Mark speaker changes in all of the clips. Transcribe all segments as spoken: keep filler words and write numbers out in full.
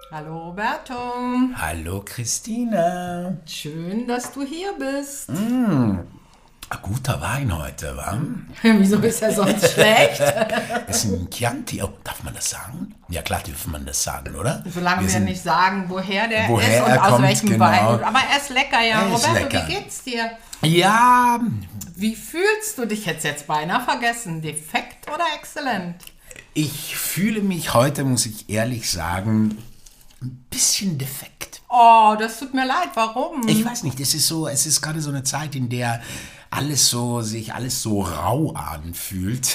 Speaker 1: Hallo Roberto.
Speaker 2: Hallo Christina.
Speaker 1: Schön, dass du hier bist.
Speaker 2: Mm, ein guter Wein heute, wa?
Speaker 1: Wieso ist er sonst schlecht?
Speaker 2: Es ist ein Chianti. Oh, darf man das sagen? Ja klar, darf man das sagen, oder?
Speaker 1: Solange wir, wir nicht sagen, woher der
Speaker 2: woher
Speaker 1: ist und
Speaker 2: er
Speaker 1: aus
Speaker 2: kommt,
Speaker 1: welchem
Speaker 2: genau.
Speaker 1: Wein. Aber er ist lecker, ja.
Speaker 2: Er ist
Speaker 1: Roberto,
Speaker 2: lecker.
Speaker 1: wie geht's dir?
Speaker 2: Ja,
Speaker 1: Wie fühlst du dich jetzt jetzt beinahe vergessen? Defekt oder exzellent?
Speaker 2: ich fühle mich heute, muss ich ehrlich sagen, ein bisschen defekt.
Speaker 1: Oh, das tut mir leid. Warum?
Speaker 2: Ich weiß nicht, es ist so, es ist gerade so eine Zeit, in der alles so, sich alles so rau anfühlt.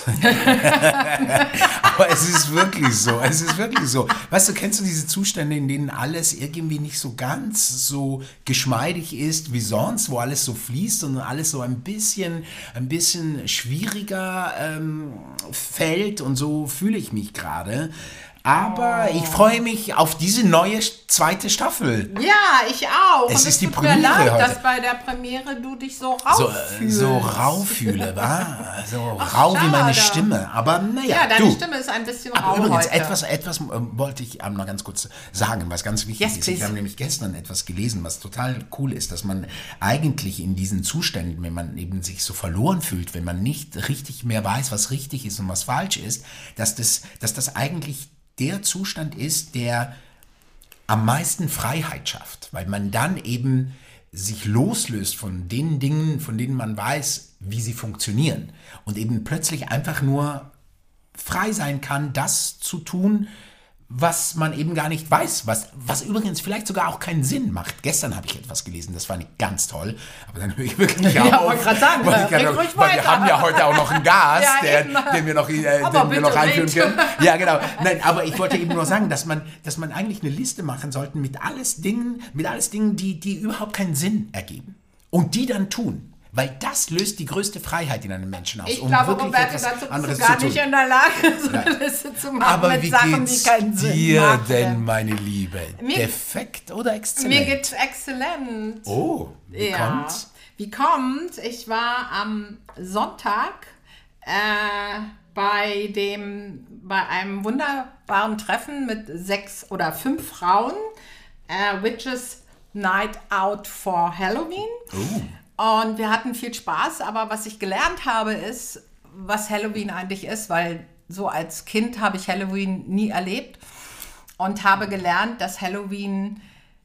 Speaker 2: Aber es ist wirklich so, es ist wirklich so. Weißt du, kennst du diese Zustände, in denen alles irgendwie nicht so ganz so geschmeidig ist wie sonst, wo alles so fließt und alles so ein bisschen, ein bisschen schwieriger ähm, fällt, und so fühle ich mich gerade. Aber
Speaker 1: Oh.
Speaker 2: ich freue mich auf diese neue zweite Staffel.
Speaker 1: Ja, ich auch.
Speaker 2: Es
Speaker 1: Und
Speaker 2: ist die
Speaker 1: tut mir
Speaker 2: Premiere
Speaker 1: leid,
Speaker 2: heute.
Speaker 1: dass bei der Premiere du dich so rau
Speaker 2: So, äh,
Speaker 1: fühlst.
Speaker 2: so rau fühle, wa? So
Speaker 1: Ach,
Speaker 2: rau wie meine
Speaker 1: schade.
Speaker 2: Stimme. Aber naja,
Speaker 1: Ja, deine
Speaker 2: du.
Speaker 1: Stimme ist ein bisschen
Speaker 2: Aber
Speaker 1: rau
Speaker 2: übrigens,
Speaker 1: heute.
Speaker 2: etwas, etwas ähm, wollte ich ähm, noch ganz kurz sagen, was ganz wichtig
Speaker 1: Yes,
Speaker 2: ist. Ich
Speaker 1: please.
Speaker 2: habe nämlich gestern etwas gelesen, was total cool ist, dass man eigentlich in diesen Zuständen, wenn man eben sich so verloren fühlt, wenn man nicht richtig mehr weiß, was richtig ist und was falsch ist, dass das, dass das eigentlich der Zustand ist, der am meisten Freiheit schafft, weil man dann eben sich loslöst von den Dingen, von denen man weiß, wie sie funktionieren, und eben plötzlich einfach nur frei sein kann, das zu tun, was man eben gar nicht weiß, was, was übrigens vielleicht sogar auch keinen Sinn macht. Gestern habe ich etwas gelesen, das war nicht ganz toll, aber dann höre ich wirklich
Speaker 1: Ja,
Speaker 2: auf.
Speaker 1: wollte gerade sagen,
Speaker 2: weil ich
Speaker 1: red
Speaker 2: gerade-
Speaker 1: ruhig
Speaker 2: weil wir
Speaker 1: weiter.
Speaker 2: haben ja heute auch noch einen Gast,
Speaker 1: Ja,
Speaker 2: der,
Speaker 1: eben.
Speaker 2: den wir noch, äh,
Speaker 1: Aber
Speaker 2: den wir noch
Speaker 1: bitte
Speaker 2: einführen
Speaker 1: red.
Speaker 2: können. Ja, genau. Nein, aber ich wollte eben nur sagen, dass man, dass man eigentlich eine Liste machen sollte mit alles Dingen, mit alles Dingen, die, die überhaupt keinen Sinn ergeben. Und die dann tun. Weil das löst die größte Freiheit in einem Menschen aus.
Speaker 1: Ich
Speaker 2: um
Speaker 1: glaube,
Speaker 2: wirklich
Speaker 1: Roberto,
Speaker 2: etwas
Speaker 1: dazu bist
Speaker 2: anderes
Speaker 1: du gar
Speaker 2: zu tun.
Speaker 1: nicht in der Lage, so eine Liste zu machen
Speaker 2: Aber
Speaker 1: mit
Speaker 2: wie
Speaker 1: Sachen,
Speaker 2: geht's
Speaker 1: die keinen Sinn
Speaker 2: dir
Speaker 1: machen.
Speaker 2: denn, meine Liebe?
Speaker 1: Mir-
Speaker 2: Defekt oder exzellent?
Speaker 1: Mir geht's exzellent.
Speaker 2: Oh, wie
Speaker 1: ja.
Speaker 2: kommt's?
Speaker 1: Wie kommt? Ich war am Sonntag äh, bei dem, bei einem wunderbaren Treffen mit sechs oder fünf Frauen, äh, Witches Night Out for Halloween.
Speaker 2: Oh.
Speaker 1: Und wir hatten viel Spaß, aber was ich gelernt habe, ist, was Halloween eigentlich ist, weil so als Kind habe ich Halloween nie erlebt und habe gelernt, dass Halloween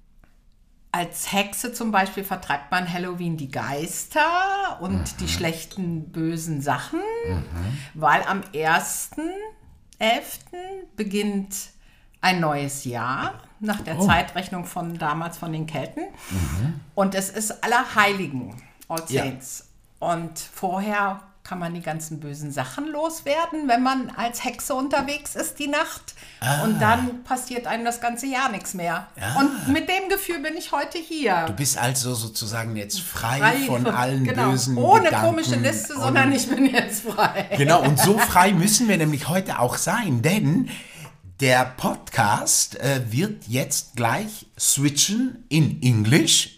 Speaker 1: als Hexe zum Beispiel vertreibt man Halloween die Geister und
Speaker 2: Mhm.
Speaker 1: die schlechten, bösen Sachen, mhm. weil am ersten elften beginnt ein neues Jahr nach der
Speaker 2: Oh.
Speaker 1: Zeitrechnung von damals von den Kelten. Mhm. Und es ist Allerheiligen, All
Speaker 2: Ja.
Speaker 1: Saints. Und vorher kann man die ganzen bösen Sachen loswerden, wenn man als Hexe unterwegs ist die Nacht.
Speaker 2: Ah.
Speaker 1: Und dann passiert einem das ganze Jahr nichts mehr.
Speaker 2: Ah.
Speaker 1: Und mit dem Gefühl bin ich heute hier.
Speaker 2: Du bist also sozusagen jetzt frei,
Speaker 1: Frei
Speaker 2: von allen
Speaker 1: genau.
Speaker 2: bösen
Speaker 1: Ohne
Speaker 2: Gedanken.
Speaker 1: komische Liste,
Speaker 2: und-
Speaker 1: sondern ich bin jetzt frei.
Speaker 2: Genau, und so frei müssen wir nämlich heute auch sein, denn der Podcast äh, wird jetzt gleich switchen in English.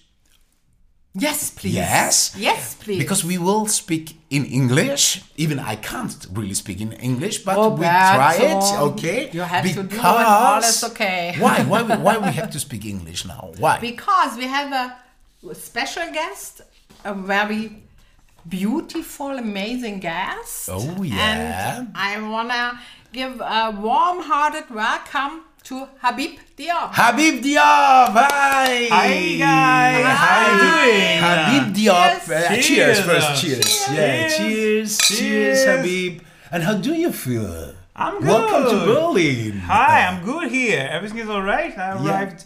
Speaker 1: Yes, please.
Speaker 2: Yes.
Speaker 1: Yes, please.
Speaker 2: Because we will speak in English. Even I can't really speak in English, but
Speaker 1: Roberto,
Speaker 2: we try it, okay?
Speaker 1: you have to do it, all is okay.
Speaker 2: Why? Why? we- Why we have to speak English now? Why?
Speaker 1: Because we have a special guest, a very beautiful, amazing guest.
Speaker 2: Oh, yeah.
Speaker 1: And I wanna give a warm-hearted welcome to Habib Diop.
Speaker 2: Habib Diop, hi!
Speaker 3: Hi guys, how you doing?
Speaker 2: Habib Diop,
Speaker 1: Cheers.
Speaker 2: uh, cheers,
Speaker 3: Cheers.
Speaker 2: first, cheers. Yeah,
Speaker 3: Cheers.
Speaker 2: cheers, cheers,
Speaker 3: Cheers.
Speaker 2: Habib. And how do you feel?
Speaker 3: I'm good.
Speaker 2: Welcome to Berlin.
Speaker 3: Hi, I'm good here. Everything is alright. I
Speaker 2: Yeah.
Speaker 3: arrived,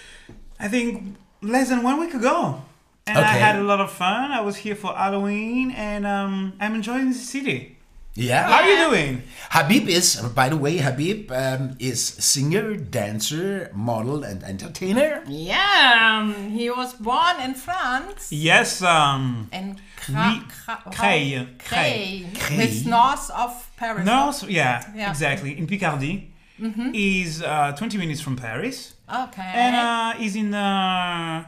Speaker 3: I think, less than one week ago. And I
Speaker 2: Okay.
Speaker 3: had a lot of fun. I was here for Halloween and um, I'm enjoying the city.
Speaker 2: Yeah.
Speaker 3: How are you doing?
Speaker 2: Habib is, by the way, Habib um, is singer, dancer, model, and entertainer.
Speaker 1: Yeah, um, he was born in France.
Speaker 3: Yes, um,
Speaker 1: In Cra-
Speaker 3: Oui,
Speaker 1: Cra-
Speaker 3: Creil.
Speaker 1: Creil.
Speaker 2: Creil.
Speaker 1: It's north of Paris.
Speaker 3: no, so- yeah,
Speaker 1: Yeah.
Speaker 3: exactly. In Picardy. He's uh, twenty minutes from Paris.
Speaker 1: Okay.
Speaker 3: And uh, he's in uh,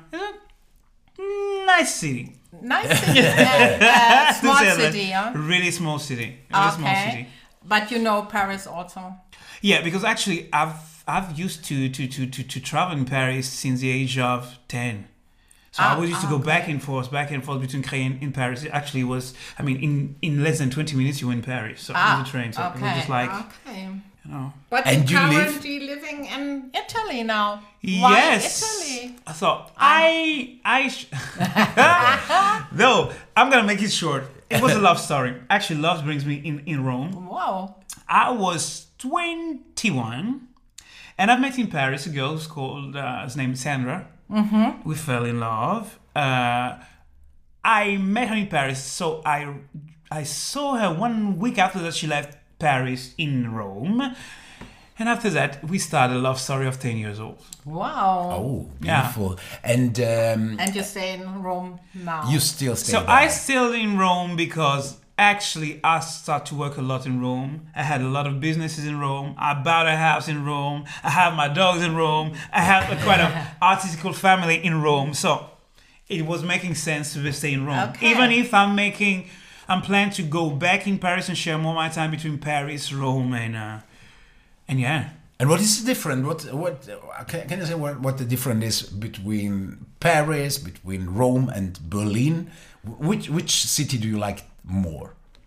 Speaker 3: a nice city.
Speaker 1: Nice city. Yeah, uh, small
Speaker 3: To say that.
Speaker 1: city, yeah.
Speaker 3: Really small city. Really small
Speaker 1: Okay.
Speaker 3: city.
Speaker 1: But you know Paris also.
Speaker 3: Yeah, because actually I've I've used to to, to, to to travel in Paris since the age of ten. So
Speaker 1: Ah,
Speaker 3: I always used to
Speaker 1: ah,
Speaker 3: go back
Speaker 1: okay.
Speaker 3: and forth, back and forth between Creil and in Paris. It actually was, I mean, in, in less than twenty minutes you were in Paris. So
Speaker 1: Ah,
Speaker 3: on the train. So
Speaker 1: okay.
Speaker 3: it was just like,
Speaker 1: okay.
Speaker 3: you know.
Speaker 1: But
Speaker 2: And
Speaker 1: you're
Speaker 2: you live-
Speaker 1: currently living in Italy now. Why
Speaker 3: Yes.
Speaker 1: Italy?
Speaker 3: So I, I, sh- no, I'm gonna make it short. It was a love story. Actually, love brings me in, in Rome.
Speaker 1: Wow.
Speaker 3: I was twenty-one, and I've met in Paris a girl who's called, uh, his name is Sandra. Mm-hmm. We fell in love. Uh, I met her in Paris, so I, I saw her one week after that she left Paris in Rome. And after that, we started a love story of ten years old.
Speaker 1: Wow.
Speaker 2: Oh,
Speaker 3: Yeah.
Speaker 2: beautiful. And um,
Speaker 1: And you stay in Rome now.
Speaker 2: you still stay
Speaker 3: So
Speaker 2: there.
Speaker 3: I still in Rome because actually I started to work a lot in Rome. I had a lot of businesses in Rome. I bought a house in Rome. I have my dogs in Rome. I have a quite an artistical family in Rome. So it was making sense to stay in Rome.
Speaker 1: Okay.
Speaker 3: Even if I'm making, I'm planning to go back in Paris and share more of my time between Paris, Rome, and uh, and yeah.
Speaker 2: And what is the difference? What what can, can you say what, what the difference is between Paris, between Rome and Berlin? Which which city do you like more?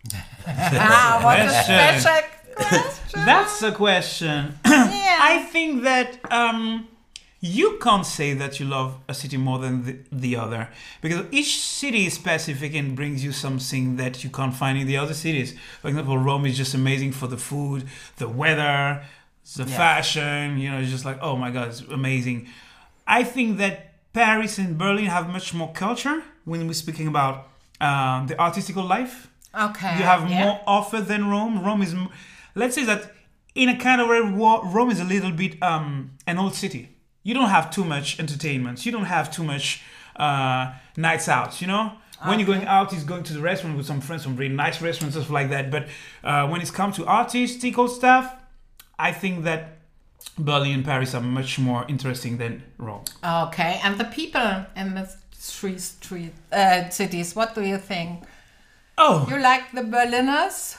Speaker 1: Ah, what a
Speaker 3: Question.
Speaker 1: special question.
Speaker 3: That's a question.
Speaker 1: Yeah.
Speaker 3: I think that um, you can't say that you love a city more than the, the other because each city is specific and brings you something that you can't find in the other cities. For example, Rome is just amazing for the food, the weather, the
Speaker 1: Yeah.
Speaker 3: fashion. You know, it's just like, oh my God, it's amazing. I think that Paris and Berlin have much more culture when we're speaking about um, the artistical life.
Speaker 1: Okay.
Speaker 3: You have
Speaker 1: yeah.
Speaker 3: more offer than Rome. Rome is, m- let's say that in a kind of way, Wa- Rome is a little bit um, an old city. You don't have too much entertainment. You don't have too much uh, nights out, you know? When you're going out, is going to the restaurant with some friends, some really nice restaurants, stuff like that. But uh, when it's come to artistical stuff, I think that Berlin and Paris are much more interesting than Rome.
Speaker 1: Okay. And the people in the three street uh, cities, what do you think?
Speaker 3: Oh,
Speaker 1: You like the Berliners?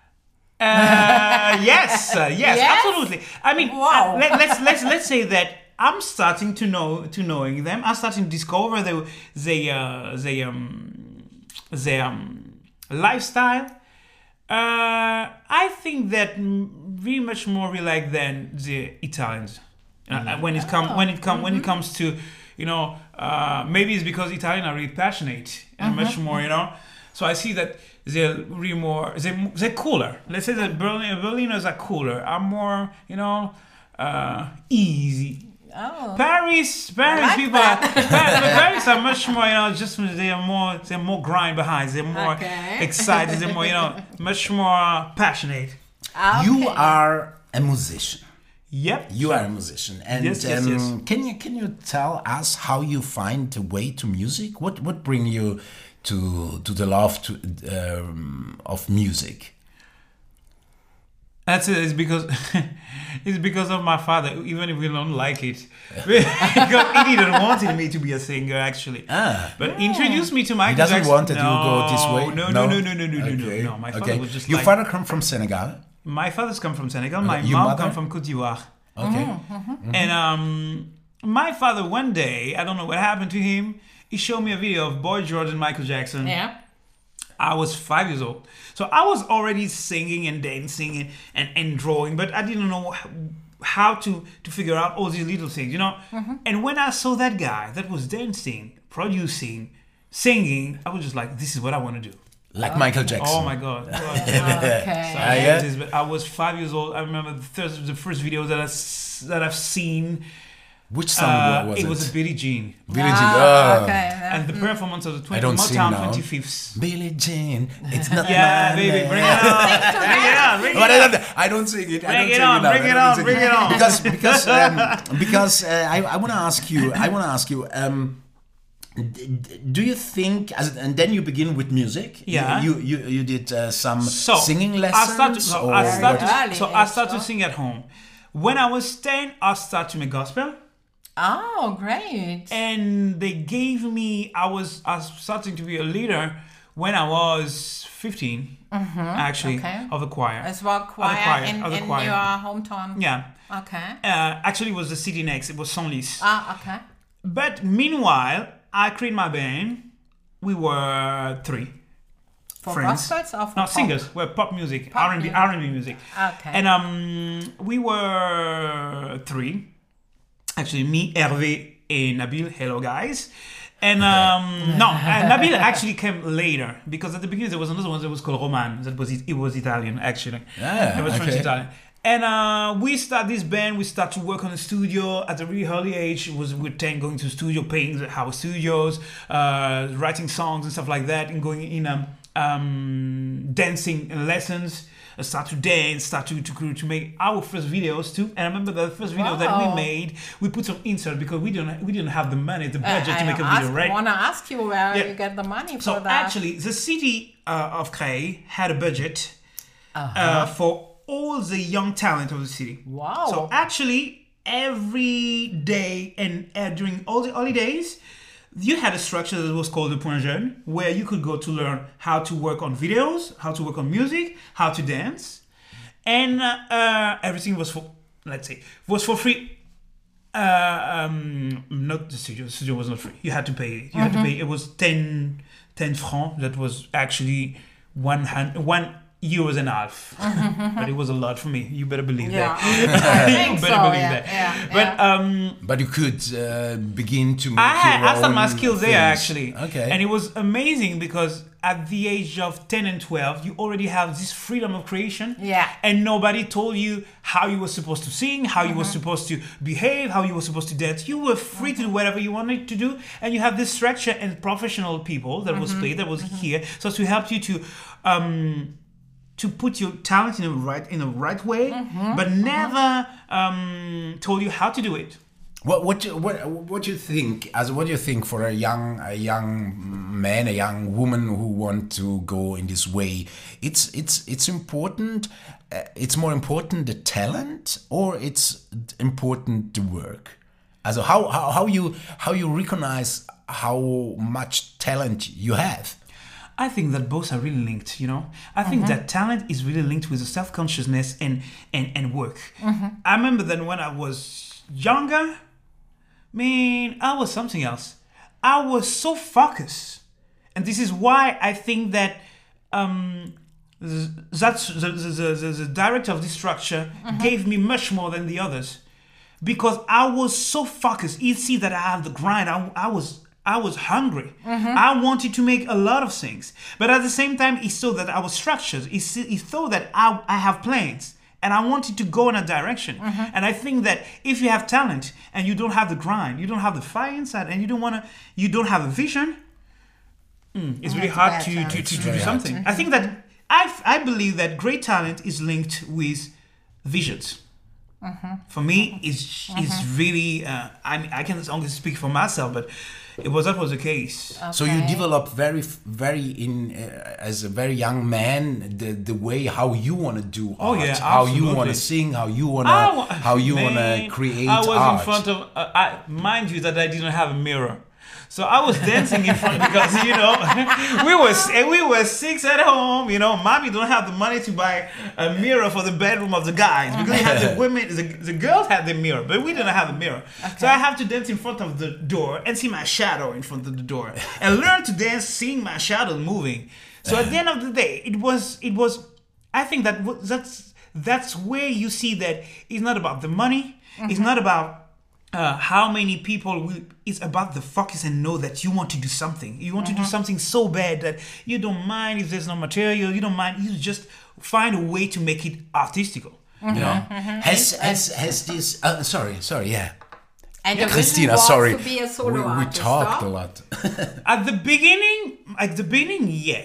Speaker 3: Uh, yes, uh, yes,
Speaker 1: Yes?
Speaker 3: absolutely. I mean,
Speaker 1: Wow.
Speaker 3: uh, let, let's let's let's say that I'm starting to know to knowing them. I'm starting to discover the the uh, the um the um lifestyle. Uh, I think that m- very much more we like than the Italians. Uh, when it come when it come when it comes to, you know, uh, maybe it's because Italians are really passionate and much more, you know. So I see that they're really more they're, they're cooler. Let's say that Berlin Berliners are cooler, are more, you know, uh, easy.
Speaker 1: Oh.
Speaker 3: Paris, Paris
Speaker 1: like
Speaker 3: people,
Speaker 1: that.
Speaker 3: are, Paris, Paris are much more, you know, just they are more, they're more grind behind, they're more
Speaker 1: Okay.
Speaker 3: excited, they're more, you know, much more passionate.
Speaker 1: Okay.
Speaker 2: You are a musician.
Speaker 3: Yep.
Speaker 2: You are a musician, and
Speaker 3: Yes, yes,
Speaker 2: um,
Speaker 3: yes.
Speaker 2: can you can you tell us how you find the way to music? What what bring you to to the love to um, of music?
Speaker 3: That's it. It's because it's because of my father. Even if we don't like it, because he didn't wanted me to be a singer actually.
Speaker 2: Ah.
Speaker 3: But introduced me to Michael
Speaker 2: He doesn't
Speaker 3: Jackson.
Speaker 2: want that you
Speaker 3: no,
Speaker 2: go this way.
Speaker 3: No, no, no, no, no, no, no,
Speaker 2: Okay.
Speaker 3: no. No, my father
Speaker 2: okay.
Speaker 3: was just
Speaker 2: Your
Speaker 3: like.
Speaker 2: father come from Senegal.
Speaker 3: My father's come from Senegal. My
Speaker 2: Your
Speaker 3: mom
Speaker 2: mother?
Speaker 3: come from Côte d'Ivoire.
Speaker 2: Okay.
Speaker 3: And um, my father one day, I don't know what happened to him. He showed me a video of Boy George and Michael Jackson.
Speaker 1: Yeah.
Speaker 3: I was five years old. So I was already singing and dancing and, and, and drawing, but I didn't know how, how to, to figure out all these little things, you know? And when I saw that guy that was dancing, producing, singing, I was just like, this is what I want to do.
Speaker 2: Like Michael Jackson.
Speaker 3: Oh my God.
Speaker 1: Okay.
Speaker 2: Ah, yeah?
Speaker 3: This, but I was five years old. I remember the first, the first video that, I, s- that I've seen.
Speaker 2: Which song
Speaker 3: Uh,
Speaker 2: was
Speaker 3: it
Speaker 2: it?
Speaker 3: was a Billie Jean.
Speaker 2: Billie Jean.
Speaker 1: Ah,
Speaker 2: Oh.
Speaker 1: okay. yeah.
Speaker 3: And the performance of the
Speaker 2: I
Speaker 3: twenty,
Speaker 2: don't sing
Speaker 3: Motown
Speaker 2: now.
Speaker 3: twenty-fifths.
Speaker 2: Billie Jean. It's not
Speaker 3: Yeah,
Speaker 2: my
Speaker 3: baby,
Speaker 2: name.
Speaker 3: bring it on. Bring it on. Bring
Speaker 2: But
Speaker 3: it
Speaker 2: I
Speaker 3: on.
Speaker 2: don't, I don't sing it. I
Speaker 3: Bring
Speaker 2: don't
Speaker 3: it
Speaker 2: sing
Speaker 3: on,
Speaker 2: it now.
Speaker 3: bring
Speaker 2: I
Speaker 3: it
Speaker 2: don't
Speaker 3: on,
Speaker 2: sing
Speaker 3: bring it on.
Speaker 2: Because because um, because uh, I I want to ask you. I want to ask you. Um, d- d- do you think? As, and then you begin with music.
Speaker 3: Yeah.
Speaker 2: You you you did uh, some
Speaker 3: So
Speaker 2: singing
Speaker 3: I
Speaker 2: lessons.
Speaker 3: started. So
Speaker 2: or
Speaker 3: I started.
Speaker 1: Early
Speaker 3: So I
Speaker 1: age,
Speaker 3: started to
Speaker 1: so.
Speaker 3: sing at home. When I was ten, I started to make gospel,
Speaker 1: Oh, great.
Speaker 3: and they gave me. I was. I was starting to be a leader when I was fifteen, actually,
Speaker 1: Okay.
Speaker 3: of the choir.
Speaker 1: Es war choir,
Speaker 3: choir,
Speaker 1: in,
Speaker 3: of the
Speaker 1: in
Speaker 3: choir.
Speaker 1: your hometown.
Speaker 3: Yeah.
Speaker 1: Okay.
Speaker 3: Uh, actually, it was the city next. It was Senlis.
Speaker 1: Ah, okay.
Speaker 3: But meanwhile, I created my band. We were three.
Speaker 1: For
Speaker 3: friends.
Speaker 1: gospels or for
Speaker 3: No,
Speaker 1: pop?
Speaker 3: singers. We're pop music,
Speaker 1: Pop
Speaker 3: R and B,
Speaker 1: music.
Speaker 3: R and B music.
Speaker 1: Okay.
Speaker 3: And um, we were three. Actually, me, Hervé, and Nabil. Hello, guys. And um, no, and Nabil actually came later because at the beginning there was another one that was called Roman. That was it was Italian actually.
Speaker 2: Ah,
Speaker 3: it was French
Speaker 2: okay.
Speaker 3: Italian. And uh, we start this band. We start to work on the studio at a really early age. It was we ten going to the studio, paying the house studios, uh, writing songs and stuff like that, and going in um, um, dancing lessons. Uh, start to dance, start to, to to make our first videos too. And I remember the first video that we
Speaker 1: Wow.
Speaker 3: made, we put some insert because we didn't we didn't have the money, the
Speaker 1: Uh,
Speaker 3: budget to
Speaker 1: I
Speaker 3: make a
Speaker 1: ask,
Speaker 3: video, right?
Speaker 1: want to ask you where
Speaker 3: Yeah.
Speaker 1: you get the money for
Speaker 3: So
Speaker 1: that.
Speaker 3: actually, the city uh, of Creil had a budget
Speaker 1: Uh-huh.
Speaker 3: uh, for all the young talent of the city.
Speaker 1: Wow.
Speaker 3: So actually, every day and uh, during all the holidays, you had a structure that was called the Point Jeune, where you could go to learn how to work on videos, how to work on music, how to dance, and uh, uh, everything was for, let's say, was for free. Uh, um, not the studio. The studio was not free. You had to pay it. You had to pay. It was ten, ten francs. That was actually one hundred, one euros and a half. But it was a lot for me. You better believe
Speaker 1: Yeah.
Speaker 3: that.
Speaker 1: I
Speaker 3: you
Speaker 1: think
Speaker 3: better
Speaker 1: so,
Speaker 3: believe
Speaker 1: yeah,
Speaker 3: that.
Speaker 1: yeah,
Speaker 3: but
Speaker 1: yeah.
Speaker 3: um,
Speaker 2: But you could uh, begin to make
Speaker 3: I had,
Speaker 2: your
Speaker 3: I started my
Speaker 2: own
Speaker 3: skills there
Speaker 2: things.
Speaker 3: actually.
Speaker 2: Okay.
Speaker 3: And it was amazing because at the age of ten and twelve, you already have this freedom of creation.
Speaker 1: Yeah.
Speaker 3: And nobody told you how you were supposed to sing, how you were
Speaker 1: Mm-hmm.
Speaker 3: supposed to behave, how you were supposed to dance. You were free to do whatever you wanted to do. And you have this structure and professional people that
Speaker 1: Mm-hmm.
Speaker 3: was played, that was here. So to help you to um, to put your talent in the right in the right way,
Speaker 1: Mm-hmm.
Speaker 3: but never um, told you how to do it.
Speaker 2: What what you, what what you think? As what do you think for a young a young man, a young woman who want to go in this way? It's it's it's important. Uh, it's more important the talent, or it's important the work. Also how how how you how you recognize how much talent you have.
Speaker 3: I think that both are really linked, you know? I think that talent is really linked with the self-consciousness and, and, and work. I remember that when I was younger, man, I was something else. I was so focused. And this is why I think that um, th- that's the, the, the, the, the director of this structure gave me much more than the others. Because I was so focused. You see that I have the grind. I, I was... I was hungry. I wanted to make a lot of things. But at the same time, he saw that I was structured. He, see, he saw that I, I have plans. And I wanted to go in a direction. And I think that if you have talent and you don't have the grind, you don't have the fire inside, and you don't want to, you don't have a vision, mm, it's really
Speaker 1: That's
Speaker 3: hard
Speaker 1: bad,
Speaker 3: to,
Speaker 1: yeah.
Speaker 3: to,
Speaker 1: It's
Speaker 3: to, to
Speaker 2: very
Speaker 3: do
Speaker 2: hard.
Speaker 3: something. I think that I, I believe that great talent is linked with visions. For me, it's it's really. Uh, I mean, I can only speak for myself, but it was that was the case.
Speaker 2: So you
Speaker 1: Okay.
Speaker 2: develop very, very in uh, as a very young man the the way how you want to do
Speaker 3: Oh,
Speaker 2: art,
Speaker 3: yeah,
Speaker 2: how you want
Speaker 3: absolutely.
Speaker 2: to sing, how you want
Speaker 3: I
Speaker 2: to
Speaker 3: wa-
Speaker 2: how you want
Speaker 3: Man,
Speaker 2: to create
Speaker 3: I was
Speaker 2: art.
Speaker 3: in front of. Uh, I mind you that I didn't have a mirror, so I was dancing in front because you know we were we were six at home. You know, mommy don't have the money to buy a mirror for the bedroom of the guys because we had the women, the, the girls had the mirror, but we didn't have a mirror. So I have to dance in front of the door and see my shadow in front of the door and learn to dance seeing my shadow moving. So at the end of the day, it was it was. I think that w- that's that's where you see that it's not about the money. It's not about uh, how many people will. It's about the focus and know that you want to do something. You want to do something so bad that you don't mind if there's no material. You don't mind. You just find a way to make it artistical. You know.
Speaker 2: Has has has this? Uh, sorry, sorry, yeah.
Speaker 1: And the
Speaker 2: Christina,
Speaker 1: vision was
Speaker 2: sorry,
Speaker 1: to be a solo
Speaker 2: we, we
Speaker 1: artist,
Speaker 2: talked
Speaker 1: huh?
Speaker 2: a lot.
Speaker 3: At the beginning, at the beginning, yeah.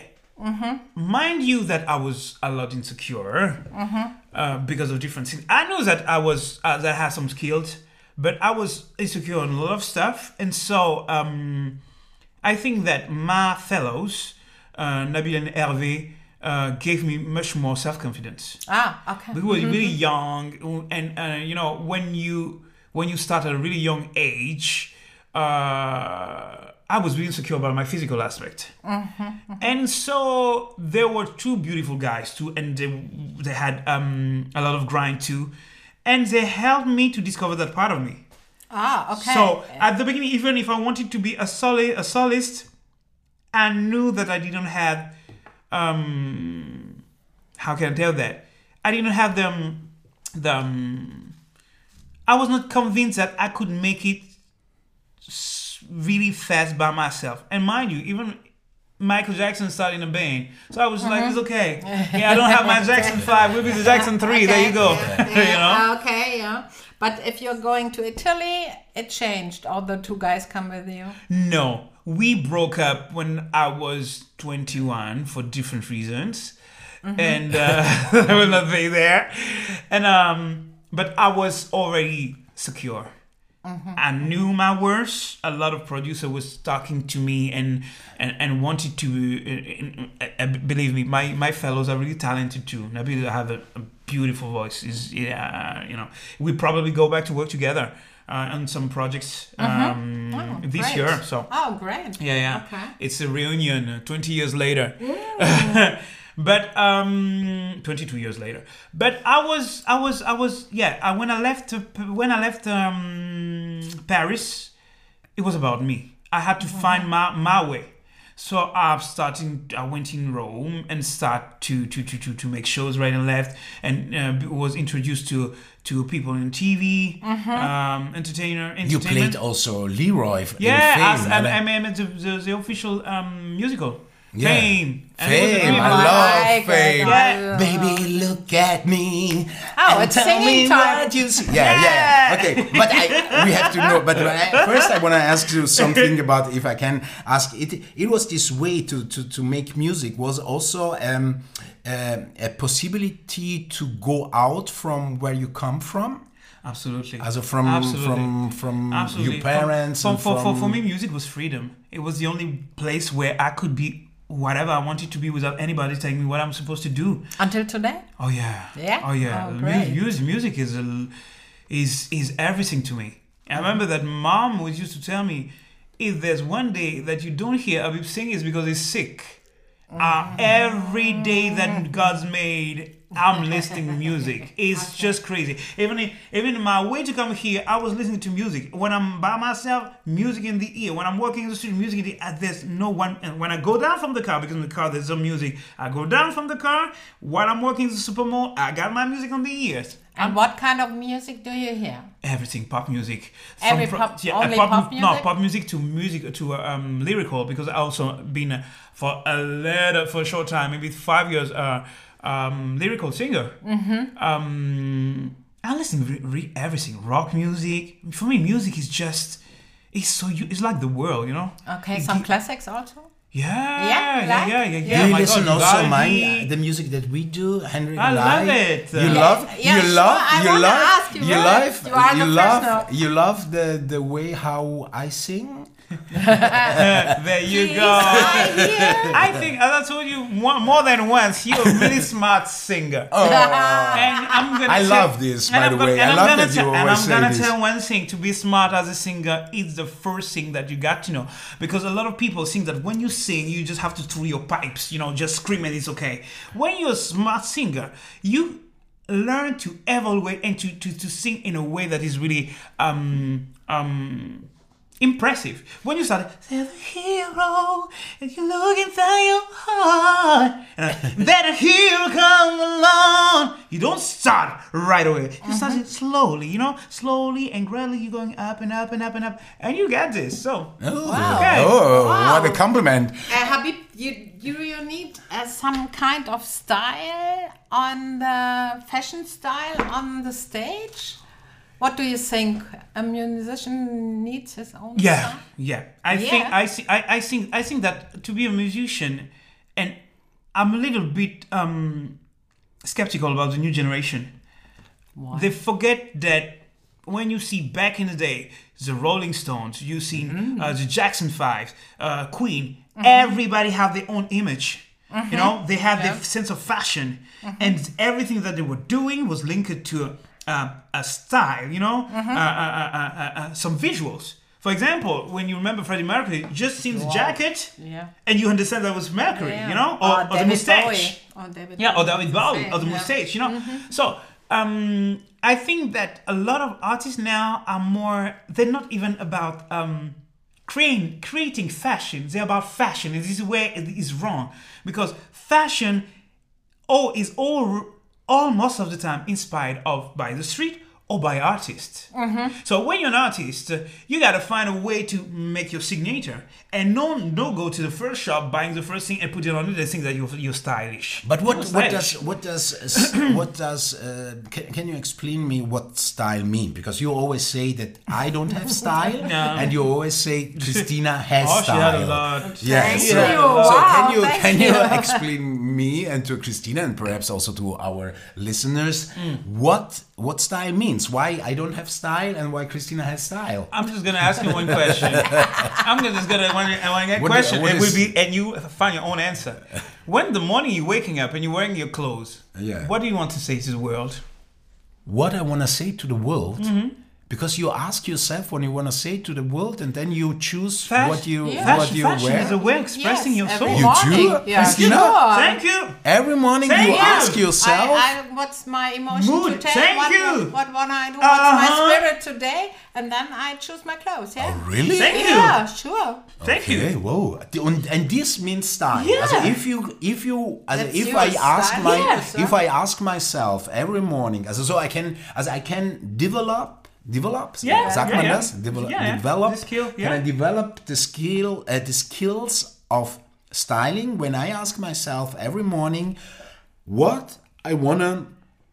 Speaker 3: Mind you that I was a lot insecure uh, because of different things. I knew that I was uh, that I had some skills, but I was insecure on a lot of stuff, and so um, I think that my fellows, uh, Nabil and Hervé, uh, gave me much more self confidence.
Speaker 1: Ah, okay.
Speaker 3: We were really young, and uh, you know when you when you start at a really young age, uh, I was really insecure about my physical aspect. Mm-hmm, mm-hmm. And so there were two beautiful guys too, and they, they had um, a lot of grind too. And they helped me to discover that part of me.
Speaker 1: Ah, okay.
Speaker 3: So at the beginning, even if I wanted to be a soli- a solist, I knew that I didn't have, um, how can I tell that? I didn't have the, the um, I was not convinced that I could make it really fast by myself. And mind you, even Michael Jackson started in a band. So I was mm-hmm. like, it's okay. Yeah, I don't have my Jackson five. We'll be the Jackson three. Okay. There you go.
Speaker 1: Yeah.
Speaker 3: You know?
Speaker 1: Okay, yeah. But if you're going to Italy, it changed. All the two guys come with you?
Speaker 3: No. We broke up when I was twenty-one for different reasons. Mm-hmm. And uh, I will not be there. And um, but I was already secure. Mm-hmm. I knew my worth. A lot of producer was talking to me and and, and wanted to uh, uh, believe me. My my fellows are really talented too. Nabil have a, a beautiful voice. Is yeah, you know. We probably go back to work together uh, on some projects um,
Speaker 1: mm-hmm. oh,
Speaker 3: this
Speaker 1: great.
Speaker 3: year. So
Speaker 1: oh, great.
Speaker 3: Yeah, yeah.
Speaker 1: Okay.
Speaker 3: It's a reunion uh, twenty years later. Mm. But um, twenty-two years later. But I was, I was, I was, yeah. I, when I left, uh, when I left um, Paris, it was about me. I had to mm-hmm. find my, my way. So I started. I went in Rome and start to to to to, to make shows right and left, and uh, was introduced to to people in T V, mm-hmm. um, entertainer.
Speaker 2: You played also Leroy.
Speaker 3: Yeah,
Speaker 2: in Fame,
Speaker 3: I, I, I mean the, the, the official um, musical.
Speaker 2: Yeah.
Speaker 3: Fame.
Speaker 2: Fame. I love
Speaker 1: like
Speaker 2: Fame.
Speaker 3: Yeah.
Speaker 2: Baby, look at me.
Speaker 1: Oh,
Speaker 2: and
Speaker 1: it's
Speaker 2: tell
Speaker 1: singing
Speaker 2: me
Speaker 1: time.
Speaker 2: what you see. Yeah, yeah, yeah. Okay, but I, we have to know. But I, first, I want to ask you something about, if I can ask. It It was this way to to, to make music was also um, uh, a possibility to go out from where you come from.
Speaker 3: Absolutely.
Speaker 2: Also from
Speaker 3: Absolutely.
Speaker 2: from from
Speaker 3: Absolutely.
Speaker 2: your parents.
Speaker 3: For,
Speaker 2: and
Speaker 3: for,
Speaker 2: from...
Speaker 3: for, for me, music was freedom. It was the only place where I could be whatever I wanted to be without anybody telling me what I'm supposed to do.
Speaker 1: Until today?
Speaker 3: Oh yeah.
Speaker 1: Yeah.
Speaker 3: Oh yeah.
Speaker 1: Oh,
Speaker 3: Mu-
Speaker 1: great.
Speaker 3: music, music is a, is is everything to me. I remember that mom was used to tell me, if there's one day that you don't hear Habib sing, it's because he's sick. Uh, every day that God's made, I'm listening music. It's just crazy. Even in, even in my way to come here, I was listening to music. When I'm by myself, music in the ear. When I'm walking in the street, music in the ear. There's no one. And when I go down from the car, because in the car there's some music, I go down from the car. While I'm walking to the supermall, I got my music on the ears.
Speaker 1: And I'm, what kind of music do you hear?
Speaker 3: Everything, pop music.
Speaker 1: Every
Speaker 3: From,
Speaker 1: pop,
Speaker 3: yeah,
Speaker 1: only
Speaker 3: pop,
Speaker 1: pop music?
Speaker 3: No, pop music to music to um, lyrical, because I also been uh, for a little, for a short time, maybe five years, uh, um, lyrical singer. Mm-hmm. Um, I listen to re- re- everything, rock music. For me, music is just, it's so, it's like the world, you know?
Speaker 1: Okay,
Speaker 3: it
Speaker 1: some
Speaker 3: gi-
Speaker 1: classics also?
Speaker 3: Yeah,
Speaker 1: Yeah,
Speaker 3: yeah,
Speaker 1: like?
Speaker 3: yeah, yeah, yeah.
Speaker 1: Yeah.
Speaker 2: Do you
Speaker 3: My
Speaker 2: listen
Speaker 3: God,
Speaker 2: also
Speaker 3: Vivaldi.
Speaker 2: my the music that we do, Henry?
Speaker 3: I
Speaker 2: and
Speaker 3: love
Speaker 2: I?
Speaker 3: it.
Speaker 2: You
Speaker 3: Yeah,
Speaker 2: love,
Speaker 1: yeah,
Speaker 2: you
Speaker 1: sure,
Speaker 2: love,
Speaker 1: I
Speaker 2: you
Speaker 1: wanna
Speaker 2: love,
Speaker 1: ask you,
Speaker 2: you
Speaker 1: right?
Speaker 2: love,
Speaker 1: You are
Speaker 2: you
Speaker 1: the
Speaker 2: love,
Speaker 1: professional.
Speaker 2: you love the the way how I sing.
Speaker 3: There you
Speaker 1: Please,
Speaker 3: go.
Speaker 1: I hear.
Speaker 3: I think, as I told you more, more than once, you're a really smart singer.
Speaker 2: Oh,
Speaker 3: And I'm gonna
Speaker 2: I
Speaker 3: tell-
Speaker 2: love this,
Speaker 3: and
Speaker 2: by
Speaker 3: I'm
Speaker 2: the
Speaker 3: gonna-
Speaker 2: way.
Speaker 3: and
Speaker 2: I
Speaker 3: I'm
Speaker 2: love
Speaker 3: gonna
Speaker 2: that you
Speaker 3: tell- And
Speaker 2: always
Speaker 3: I'm
Speaker 2: say
Speaker 3: gonna
Speaker 2: this.
Speaker 3: tell one thing: to be smart as a singer is the first thing that you got to know. Because a lot of people think that when you sing, you just have to throw your pipes, you know, just scream and it's okay. When you're a smart singer, you learn to evaluate and to, to, to sing in a way that is really um um. impressive. When you start, there's a hero, and you look inside your heart, and then a hero come along. You don't start right away. You
Speaker 1: Mm-hmm.
Speaker 3: start it slowly, you know, slowly and gradually. You're going up and up and up and up, and you get this. So,
Speaker 2: Oh,
Speaker 1: Wow.
Speaker 3: Okay.
Speaker 2: oh
Speaker 1: Wow.
Speaker 2: what a compliment!
Speaker 1: Uh, Habib, you, you, you need uh, some kind of style on the fashion style on the stage? What do you think? A musician needs his own
Speaker 3: yeah,
Speaker 1: style?
Speaker 3: yeah. I
Speaker 1: Yeah.
Speaker 3: think I see. I, I think. I think that to be a musician, and I'm a little bit um, skeptical about the new generation.
Speaker 1: Why?
Speaker 3: They forget that when you see back in the day the Rolling Stones, you see
Speaker 1: Mm-hmm.
Speaker 3: uh, the Jackson Five, uh, Queen. Everybody have their own image. You know, they had
Speaker 1: Yeah.
Speaker 3: their sense of fashion, and everything that they were doing was linked to uh, a style. You know, uh, uh, uh, uh, uh, some visuals. For example, when you remember Freddie Mercury, just seen the
Speaker 1: Wow.
Speaker 3: jacket,
Speaker 1: Yeah.
Speaker 3: and you understand that was Mercury,
Speaker 1: Yeah.
Speaker 3: you know, or, or the
Speaker 1: David
Speaker 3: mustache.
Speaker 1: Bowie. Or David
Speaker 3: Yeah, or
Speaker 1: Bowie.
Speaker 3: David Bowie, or the
Speaker 1: Yeah.
Speaker 3: mustache, you know. So um, I think that a lot of artists now are more, they're not even about um, creating, creating fashion, they're about fashion. And this is where it is wrong. Because fashion all, is all, all most of the time inspired of by the street or by artists. So when you're an artist, uh, you gotta find a way to make your signature, and no, no go to the first shop buying the first thing and put it on it and think that you're, you're stylish.
Speaker 2: But what,
Speaker 3: You're
Speaker 2: what
Speaker 3: stylish.
Speaker 2: does what does uh, what does uh, can, can you explain me what style mean? Because you always say that I don't have style,
Speaker 3: No.
Speaker 2: and you always say Christina has
Speaker 3: Oh, she
Speaker 2: style.
Speaker 3: had a lot.
Speaker 2: Yeah,
Speaker 1: Thank
Speaker 2: so,
Speaker 1: you.
Speaker 2: so
Speaker 1: Wow,
Speaker 2: can you
Speaker 1: thank
Speaker 2: can you
Speaker 1: you.
Speaker 2: explain me and to Christina and perhaps also to our listeners what what style means? Why I don't have style and why Christina has style?
Speaker 3: I'm just gonna ask you one question. I'm gonna just gonna when I want to get a
Speaker 2: What-
Speaker 3: question,
Speaker 2: what
Speaker 3: it will
Speaker 2: is-
Speaker 3: be, and you find your own answer. When the morning you're waking up and you're wearing your clothes,
Speaker 2: Yeah.
Speaker 3: what do you want to say to the world?
Speaker 2: What I want to say to the world,
Speaker 3: Mm-hmm.
Speaker 2: because you ask yourself when you want to say to the world, and then you choose
Speaker 3: Fashion-
Speaker 2: what you
Speaker 1: Yeah.
Speaker 2: what
Speaker 3: Fashion,
Speaker 2: you
Speaker 3: fashion
Speaker 2: wear.
Speaker 3: is a way of expressing
Speaker 1: Yes,
Speaker 3: your
Speaker 1: every
Speaker 3: soul.
Speaker 2: You
Speaker 1: morning.
Speaker 2: do?
Speaker 1: Yeah,
Speaker 2: Christina?
Speaker 1: sure.
Speaker 3: Thank you.
Speaker 2: Every morning
Speaker 3: Thank
Speaker 2: you
Speaker 3: you.
Speaker 2: ask yourself.
Speaker 1: I, I, what's my emotion
Speaker 3: Mood.
Speaker 1: today?
Speaker 3: Thank
Speaker 1: what,
Speaker 3: you.
Speaker 1: What, what wanna I do? What's my
Speaker 3: Uh-huh.
Speaker 1: spirit today? And then I choose my clothes. Yeah.
Speaker 2: Oh, really?
Speaker 3: Thank you.
Speaker 1: Yeah, sure.
Speaker 3: Thank
Speaker 2: Okay,
Speaker 3: you.
Speaker 2: wow. Und, and this means style.
Speaker 3: Yeah.
Speaker 2: Also if you if you also
Speaker 1: That's
Speaker 2: if
Speaker 1: your
Speaker 2: I ask
Speaker 1: style.
Speaker 2: my
Speaker 1: Yes,
Speaker 2: if
Speaker 1: huh?
Speaker 2: I ask myself every morning, also so I can also I can develop develop
Speaker 3: Yeah,
Speaker 2: sagt
Speaker 3: yeah,
Speaker 2: man
Speaker 3: yeah.
Speaker 2: das? Develop,
Speaker 3: Yeah, yeah.
Speaker 2: develop
Speaker 3: The skill,
Speaker 2: Can
Speaker 3: yeah.
Speaker 2: I develop the skill uh, the skills of styling when I ask myself every morning what I wanna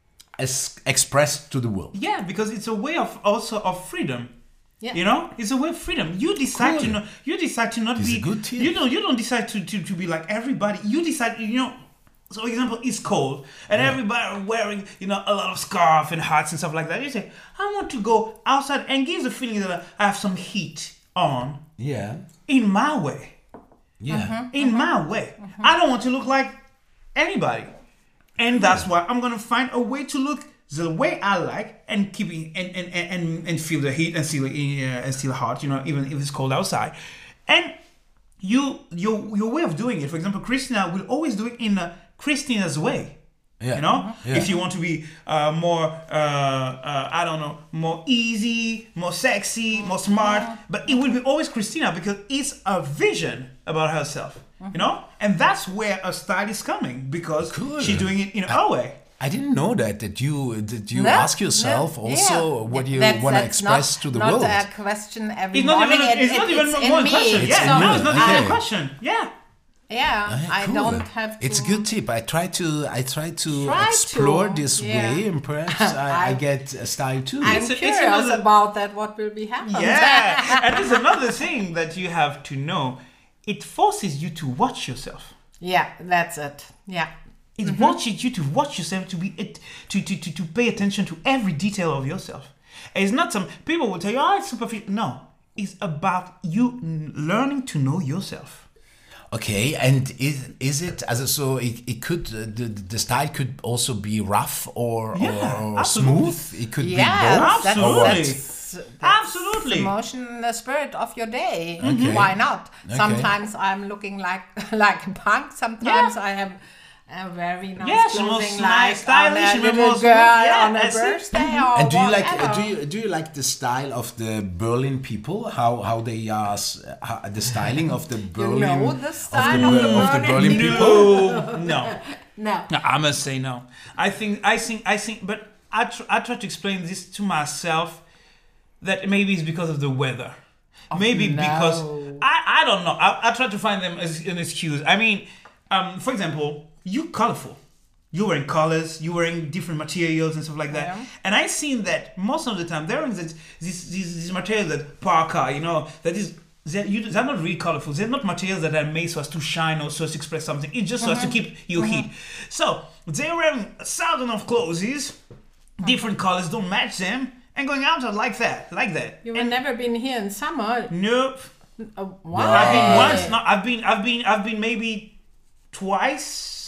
Speaker 2: es- express to the world.
Speaker 3: Yeah, because it's a way of also of freedom.
Speaker 1: Yeah.
Speaker 3: You know, it's a way of freedom. You decide
Speaker 2: Cool.
Speaker 3: to not. You decide to not
Speaker 2: This is
Speaker 3: be.
Speaker 2: a good tip.
Speaker 3: You know, you don't decide to, to, to be like everybody. You decide. You know. So, for example, it's cold and everybody are wearing, you know, a lot of scarf and hats and stuff like that. You say, I want to go outside and give the feeling that I have some heat on
Speaker 2: Yeah.
Speaker 3: in my way.
Speaker 2: Yeah.
Speaker 3: In my way. I don't want to look like anybody. And that's why I'm gonna find a way to look the way I like and keeping and and, and, and feel the heat and still uh, and still hot, you know, even if it's cold outside. And you your your way of doing it, for example, Christina will always do it in a Christina's way.
Speaker 2: Yeah.
Speaker 3: You know,
Speaker 2: Yeah.
Speaker 3: if you want to be uh, more, uh, uh, I don't know, more easy, more sexy, more smart, but it will be always Christina because it's a vision about herself, you know, and that's where a style is coming because
Speaker 2: Cool.
Speaker 3: she's doing it in her way.
Speaker 2: I didn't know that that you that you
Speaker 1: No,
Speaker 2: ask yourself
Speaker 1: no,
Speaker 2: also
Speaker 1: yeah.
Speaker 2: what you
Speaker 1: That's-
Speaker 2: want to
Speaker 1: that's
Speaker 2: express
Speaker 1: not,
Speaker 2: to the
Speaker 1: not
Speaker 2: world.
Speaker 1: a question every
Speaker 3: It's not
Speaker 1: morning.
Speaker 3: even.
Speaker 1: It-
Speaker 3: It's
Speaker 1: it-
Speaker 3: not even
Speaker 1: it's
Speaker 3: more
Speaker 1: in
Speaker 3: a
Speaker 1: me.
Speaker 3: question.
Speaker 2: It's
Speaker 3: Yeah,
Speaker 2: in
Speaker 3: no,
Speaker 2: you.
Speaker 3: it's not even
Speaker 2: Okay.
Speaker 3: a question. Yeah.
Speaker 1: Yeah,
Speaker 2: Ah,
Speaker 1: I
Speaker 2: cool.
Speaker 1: don't have to.
Speaker 2: It's a good tip. I try to I try to
Speaker 1: Try
Speaker 2: explore
Speaker 1: to,
Speaker 2: this
Speaker 1: yeah.
Speaker 2: way, and perhaps I, I
Speaker 1: I-
Speaker 2: get a style too.
Speaker 1: I'm
Speaker 3: It's a- it's
Speaker 1: curious
Speaker 3: another-
Speaker 1: about that. What will be happening?
Speaker 3: Yeah. And there's another thing that you have to know. It forces you to watch yourself.
Speaker 1: Yeah, that's it. Yeah.
Speaker 3: It
Speaker 1: Mm-hmm.
Speaker 3: watches you to watch yourself, to be it, to, to, to, to pay attention to every detail of yourself. It's not some people will tell you, oh, it's superficial. No, it's about you n- learning to know yourself.
Speaker 2: Okay, and is is it as so it, it could uh, the the style could also be rough or
Speaker 3: Yeah,
Speaker 2: or
Speaker 3: absolutely.
Speaker 2: smooth. It could
Speaker 1: Yeah,
Speaker 2: be both.
Speaker 1: that's,
Speaker 3: Absolutely.
Speaker 1: that's, that's
Speaker 3: Absolutely.
Speaker 1: the motion, the spirit of your day.
Speaker 2: Okay.
Speaker 1: Why not?
Speaker 2: Okay.
Speaker 1: Sometimes I'm looking like like a punk. Sometimes I have a very nice
Speaker 3: Yes,
Speaker 1: clothing,
Speaker 3: most
Speaker 1: like
Speaker 3: nice, stylish,
Speaker 1: on a
Speaker 3: and
Speaker 1: little
Speaker 3: most-
Speaker 1: girl
Speaker 3: yeah,
Speaker 1: on a
Speaker 3: that's it.
Speaker 1: birthday or
Speaker 2: And do you like uh,
Speaker 1: whatever.
Speaker 2: do you do you like the style of the Berlin people? How how they are s- how, the styling of the Berlin
Speaker 1: know the
Speaker 2: of
Speaker 1: style
Speaker 2: the,
Speaker 1: of
Speaker 2: Ber-
Speaker 1: the
Speaker 2: of the
Speaker 1: Berlin
Speaker 2: Berlin
Speaker 1: people?
Speaker 2: people?
Speaker 3: No, no.
Speaker 1: No.
Speaker 3: No, I must say no. I think, I think, I think, but I, tr- I try to explain this to myself that maybe it's because of the weather. maybe
Speaker 1: no.
Speaker 3: because, I, I don't know. I, I try to find them as an excuse. I mean, um, for example, you colorful. You're wearing colors, you're wearing different materials and stuff like that.
Speaker 1: Yeah.
Speaker 3: And I've seen that most of the time, they're wearing this, this, these, these materials that parka, you know, that is, they're, you, they're not really colorful. They're not materials that are made so as to shine or so as to express something. It's just so as to keep your heat. So they're wearing a thousand of clothes, different colors don't match them, and going out like that, like that.
Speaker 1: You have never been here in summer.
Speaker 3: Nope.
Speaker 1: Uh, why?
Speaker 3: I've been once. No, I've been. I've been. I've been maybe twice.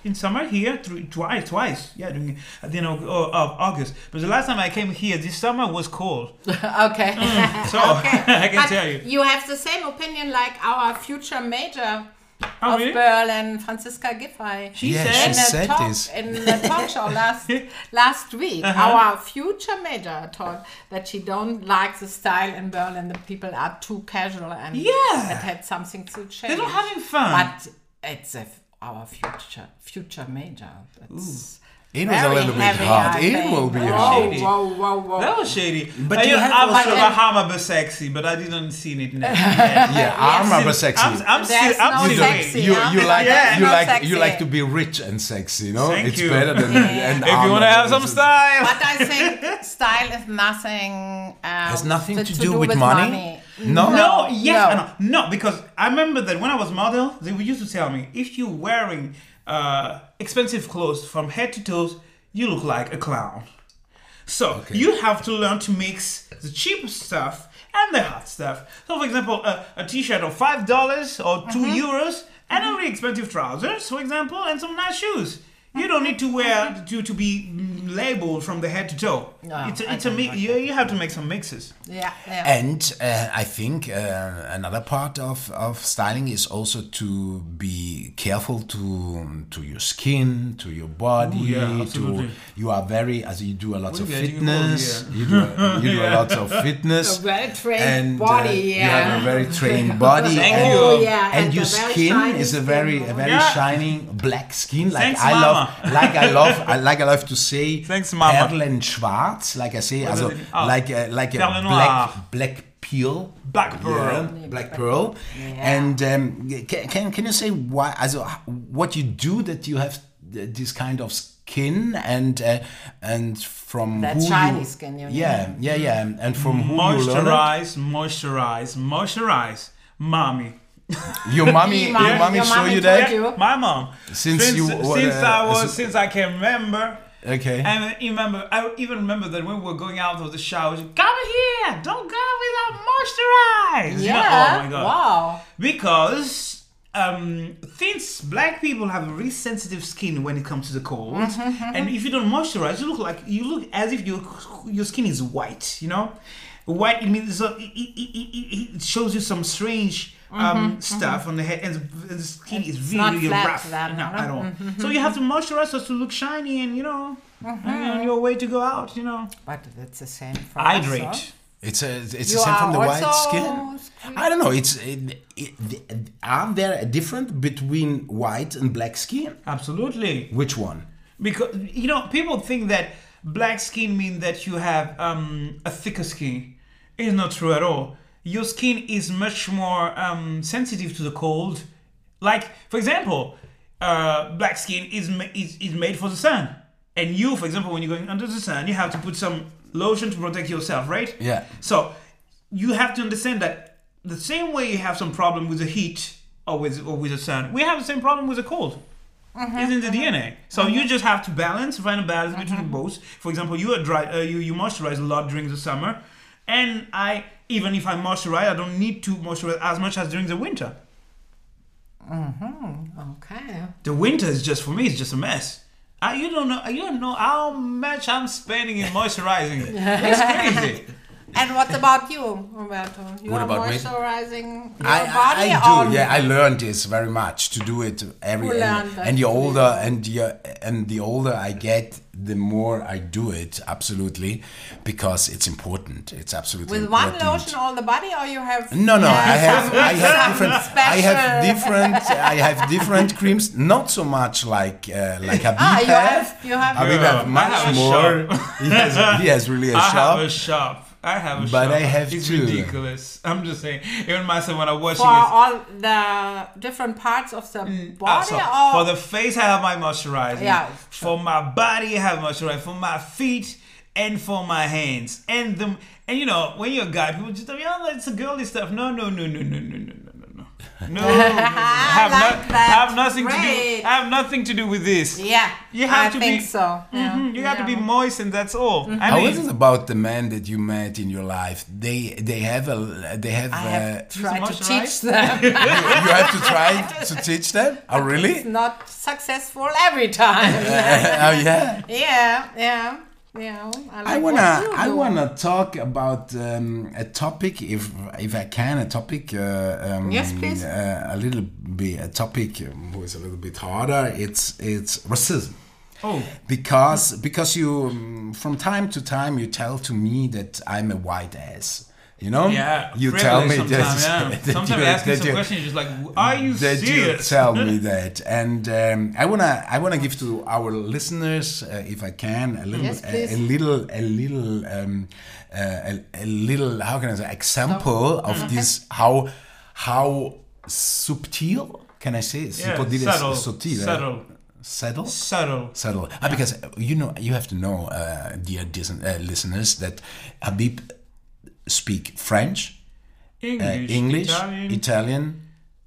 Speaker 3: in summer here, three, twice, twice. Yeah, during, at the end of, of August. But the last time I came here, this summer was cold.
Speaker 1: Okay.
Speaker 3: So
Speaker 1: Okay.
Speaker 3: I can
Speaker 1: But
Speaker 3: tell you.
Speaker 1: you have the same opinion like our future major
Speaker 3: Oh,
Speaker 1: of
Speaker 3: really?
Speaker 1: Berlin, Franziska Giffey.
Speaker 3: She
Speaker 2: Yeah,
Speaker 3: said.
Speaker 1: in
Speaker 2: she
Speaker 1: a
Speaker 2: said
Speaker 1: talk
Speaker 2: this.
Speaker 1: in the talk show last last week,
Speaker 3: Uh-huh.
Speaker 1: our future major told that she don't like the style in Berlin. The people are too casual and
Speaker 3: Yeah.
Speaker 1: it had something to change.
Speaker 3: They're not having fun.
Speaker 1: But it's a, our future future major. It's
Speaker 2: It was a
Speaker 1: very
Speaker 2: little bit
Speaker 1: heavy,
Speaker 2: hard.
Speaker 1: I
Speaker 2: It
Speaker 1: think.
Speaker 2: will be
Speaker 1: whoa,
Speaker 2: hard.
Speaker 1: Whoa, whoa, whoa,
Speaker 3: That was shady.
Speaker 2: But
Speaker 3: I,
Speaker 2: you have
Speaker 3: I was
Speaker 2: also-
Speaker 3: sort of a hammer but sexy, but I didn't see it yet. Yeah,
Speaker 2: Yeah, I'm
Speaker 3: I'm
Speaker 2: still
Speaker 3: still-
Speaker 2: sexy.
Speaker 3: I'm, I'm
Speaker 1: There's
Speaker 3: still, I'm
Speaker 1: no
Speaker 3: still
Speaker 1: sexy,
Speaker 2: you,
Speaker 1: huh?
Speaker 2: you like
Speaker 3: Yeah.
Speaker 2: you
Speaker 1: No
Speaker 2: like
Speaker 1: sexy.
Speaker 2: you like to be rich and sexy, no?
Speaker 3: Thank
Speaker 2: it's
Speaker 3: you.
Speaker 2: better than
Speaker 1: Yeah.
Speaker 2: and
Speaker 3: If you want to have some style.
Speaker 1: But I think style is nothing. Um,
Speaker 2: Has nothing to,
Speaker 1: to
Speaker 2: do, with, money. No.
Speaker 3: No, yes,
Speaker 1: No.
Speaker 3: and no. no, because I remember that when I was model, they used to tell me if you're wearing uh, expensive clothes from head to toes, you look like a clown. So you have to learn to mix the cheap stuff and the hot stuff. So, for example, a, a T-shirt of five dollars or two euros, and a really expensive trousers, for example, and some nice shoes. You don't need to wear to to be mm, labeled from the head to toe.
Speaker 1: No,
Speaker 3: it's a,
Speaker 1: I
Speaker 3: it's a
Speaker 1: don't
Speaker 3: mi-
Speaker 1: like
Speaker 3: you, you have to make some mixes.
Speaker 1: Yeah, yeah.
Speaker 2: And uh, I think uh, another part of, of styling is also to be careful to to your skin, to your body.
Speaker 3: Ooh, yeah,
Speaker 2: to
Speaker 3: absolutely.
Speaker 2: you are very as you do a lot
Speaker 3: What
Speaker 2: of
Speaker 3: do you get? You
Speaker 2: fitness.
Speaker 3: call-
Speaker 2: You do you do a lot of fitness.
Speaker 1: A well-trained
Speaker 2: and uh,
Speaker 1: body,
Speaker 2: you
Speaker 1: yeah.
Speaker 2: have a very trained body.
Speaker 3: Thank
Speaker 2: and,
Speaker 3: you.
Speaker 1: Oh, yeah.
Speaker 2: And, your
Speaker 1: a very
Speaker 2: skin
Speaker 1: shiny
Speaker 2: is a
Speaker 1: skin.
Speaker 2: very a very
Speaker 3: Yeah.
Speaker 2: shining black skin. Like
Speaker 3: Thanks,
Speaker 2: I
Speaker 3: Mama.
Speaker 2: love like I love I like I love to say
Speaker 3: Thanks, Mama.
Speaker 2: Perlenschwarz, like I say, also
Speaker 3: is it? Oh.
Speaker 2: like a, like a
Speaker 3: Perle
Speaker 2: black
Speaker 3: noir.
Speaker 2: black peel.
Speaker 3: Black pearl.
Speaker 2: Yeah, black pearl. And um, can, can can you say why? Also, what you do that you have this kind of skin and uh, and from
Speaker 1: That
Speaker 2: who
Speaker 1: shiny
Speaker 2: you,
Speaker 1: skin, you
Speaker 2: yeah,
Speaker 1: mean?
Speaker 2: yeah, yeah, and from who you learn it?
Speaker 3: Moisturize, moisturize, moisturize. Mommy.
Speaker 2: Your mommy,
Speaker 1: Mom-
Speaker 2: your mommy
Speaker 1: your
Speaker 2: show
Speaker 1: mommy
Speaker 2: you
Speaker 1: told
Speaker 2: that?
Speaker 1: you.
Speaker 3: My mom.
Speaker 2: Since
Speaker 3: since,
Speaker 2: you were,
Speaker 3: since
Speaker 2: uh,
Speaker 3: I was
Speaker 2: so-
Speaker 3: since I can remember.
Speaker 2: Okay.
Speaker 3: And I remember I even remember that when we were going out of the shower, she, come here, don't go without moisturize. You know,
Speaker 1: Yeah.
Speaker 3: oh my god.
Speaker 1: Wow.
Speaker 3: Because um, since black people have a really sensitive skin when it comes to the cold, and if you don't moisturize, you look like you look as if your your skin is white. You know, white. It means so it, it, it, it shows you some strange um, stuff on the head, and the, the skin is
Speaker 1: It's
Speaker 3: really,
Speaker 1: not
Speaker 3: really
Speaker 1: flat
Speaker 3: rough
Speaker 1: then,
Speaker 3: no,
Speaker 1: no?
Speaker 3: at all. So you have to moisturize us to look shiny, and you know, and on your way to go out. You know,
Speaker 1: But it's the same for us,
Speaker 3: hydrate.
Speaker 1: huh?
Speaker 2: It's a it's
Speaker 1: You
Speaker 2: the same
Speaker 1: are
Speaker 2: from the white
Speaker 1: also
Speaker 2: skin. I don't know. It's it, it, are there a difference between white and black skin?
Speaker 3: Absolutely.
Speaker 2: Which one?
Speaker 3: Because you know, people think that black skin means that you have um, a thicker skin. It's not true at all. Your skin is much more um, sensitive to the cold. Like, for example, uh, black skin is, ma- is is made for the sun, and you, for example, when you're going under the sun, you have to put some lotion to protect yourself, right?
Speaker 2: Yeah.
Speaker 3: So you have to understand that the same way you have some problem with the heat or with or with the sun, we have the same problem with the cold. It's in the D N A. So you just have to balance, find a balance between both. For example, you are dry, uh, you you moisturize a lot during the summer, and I even if I moisturize, I don't need to moisturize as much as during the winter.
Speaker 1: Okay.
Speaker 3: The winter is just for me, it's just a mess. I, you don't know, you don't know how much I'm spending in moisturizing. It's crazy.
Speaker 1: And what about you, Roberto? You
Speaker 2: What
Speaker 1: are
Speaker 2: about me?
Speaker 1: moisturizing your
Speaker 2: I,
Speaker 1: body?
Speaker 2: I, I
Speaker 1: or-
Speaker 2: do, yeah. I learned this very much to do it every.
Speaker 1: Who
Speaker 2: And,
Speaker 1: learned that?
Speaker 2: and the older and the and the older I get, the more I do it. Absolutely, because it's important. It's absolutely
Speaker 1: With one
Speaker 2: important.
Speaker 1: lotion all the body, or you have?
Speaker 2: No, no, I have, I have
Speaker 1: some
Speaker 2: different, I have
Speaker 1: special-
Speaker 2: different, I have different creams. Not so much like uh, like Habib
Speaker 1: Ah, you
Speaker 2: have.
Speaker 1: have. You have.
Speaker 2: Habib
Speaker 3: Yeah,
Speaker 2: have
Speaker 3: I
Speaker 2: much
Speaker 3: have a
Speaker 2: more. he has, he has really a
Speaker 3: I
Speaker 2: shop.
Speaker 3: have a shop. I have a
Speaker 2: But
Speaker 3: shop.
Speaker 2: I have
Speaker 3: it's
Speaker 2: two.
Speaker 3: ridiculous. I'm just saying. Even myself when I'm watching
Speaker 1: For
Speaker 3: it.
Speaker 1: all the different parts of the
Speaker 3: Ah,
Speaker 1: body,
Speaker 3: so
Speaker 1: or
Speaker 3: for the face, I have my moisturizer.
Speaker 1: Yeah,
Speaker 3: For my body, I have moisturizer. For my feet and for my hands. And the and you know, when you're a guy, people just tell me, oh, it's a girly stuff. No, no, no, no, no, no, no, no, no, no. No, have,
Speaker 1: like
Speaker 3: not,
Speaker 1: that.
Speaker 3: have nothing to
Speaker 1: Great.
Speaker 3: do. Have nothing to do with this.
Speaker 1: Yeah,
Speaker 3: You have
Speaker 1: I
Speaker 3: to
Speaker 1: think
Speaker 3: be-
Speaker 1: so. Yeah.
Speaker 3: Mhm, You got to be
Speaker 1: Yeah.
Speaker 3: moist, and that's all. I
Speaker 2: How
Speaker 3: mean,
Speaker 2: is it about the men that you met in your life? They they have a they have.
Speaker 1: I
Speaker 2: uh,
Speaker 1: have tried to
Speaker 3: moisturize?
Speaker 1: teach them.
Speaker 2: you, you have to try to teach them. Oh really?
Speaker 1: It's not successful every time.
Speaker 2: oh yeah.
Speaker 1: yeah, yeah, yeah. I, like
Speaker 2: I
Speaker 1: what
Speaker 2: wanna
Speaker 1: you
Speaker 2: I
Speaker 1: do.
Speaker 2: wanna talk about um, a topic, if if I can, a topic. Uh, um,
Speaker 1: Yes, please.
Speaker 2: Uh, a little bit a topic um, who is a little bit harder. It's it's racism.
Speaker 3: oh,
Speaker 2: Because because you um, from time to time you tell to me that I'm a white ass. You know?
Speaker 3: yeah.
Speaker 2: You
Speaker 3: privilege
Speaker 2: tell me
Speaker 3: sometimes,
Speaker 2: that,
Speaker 3: yeah.
Speaker 2: that
Speaker 3: Sometimes
Speaker 2: you,
Speaker 3: you ask me
Speaker 2: that
Speaker 3: some
Speaker 2: you,
Speaker 3: questions, you're just like, are you
Speaker 2: that you
Speaker 3: serious?
Speaker 2: tell me that, and um, I wanna I wanna give to our listeners, uh, if I can, a little
Speaker 1: Yes,
Speaker 2: a,
Speaker 1: please.
Speaker 2: a little a little um, uh, a, a little how can I say example
Speaker 1: Oh.
Speaker 2: of this how how subtle can I say
Speaker 3: Yeah,
Speaker 2: Può dire
Speaker 3: subtle,
Speaker 2: sottile?
Speaker 3: subtle.
Speaker 2: Subtle?
Speaker 3: Subtle.
Speaker 2: Subtle. Ah, because uh, you know you have to know, uh, dear dis- uh, listeners, that Habib speak French,
Speaker 3: English,
Speaker 2: uh, English,
Speaker 3: Italian,
Speaker 2: Italian,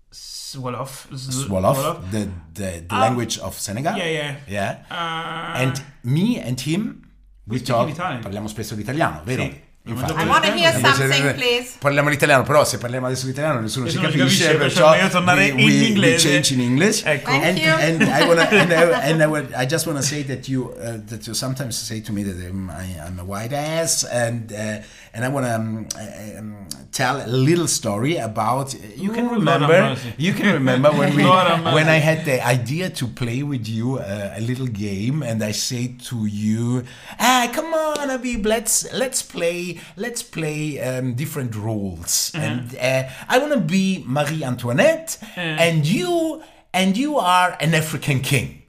Speaker 3: Wolof. Z-
Speaker 2: Wolof, the the, the
Speaker 3: Ah.
Speaker 2: language of Senegal.
Speaker 3: Yeah, yeah.
Speaker 2: Yeah.
Speaker 3: Uh,
Speaker 2: And me and him, we,
Speaker 3: speak
Speaker 2: talk.
Speaker 3: in Italian.
Speaker 2: Parliamo spesso l'italiano, vero?
Speaker 3: Sì.
Speaker 2: Infatti.
Speaker 1: I want to hear
Speaker 2: Invece-
Speaker 1: something, please.
Speaker 2: Parliamo l'italiano, però se parliamo adesso l'italiano nessuno ci
Speaker 3: Nessuno ci
Speaker 2: capisce,
Speaker 3: capisce,
Speaker 2: perciò
Speaker 3: perciò meglio tornare
Speaker 2: we,
Speaker 3: in
Speaker 2: we, we
Speaker 3: inglese.
Speaker 2: change in English.
Speaker 3: Ecco.
Speaker 1: Thank
Speaker 2: and,
Speaker 1: you.
Speaker 2: and I wanna and I, and I, would, I just wanna say that you uh, that you sometimes say to me that I'm, I, I'm a white ass, and uh, and I wanna um, uh, um, tell a little story about. You can
Speaker 3: Ooh, Lord
Speaker 2: remember.
Speaker 3: have mercy.
Speaker 2: You can remember when we
Speaker 3: Lord have mercy.
Speaker 2: when I had the idea to play with you uh, a little game, and I say to you, ah, come on, Habib, let's let's play let's play um, different roles, and uh, I want to be Marie Antoinette, and you and you are an African king.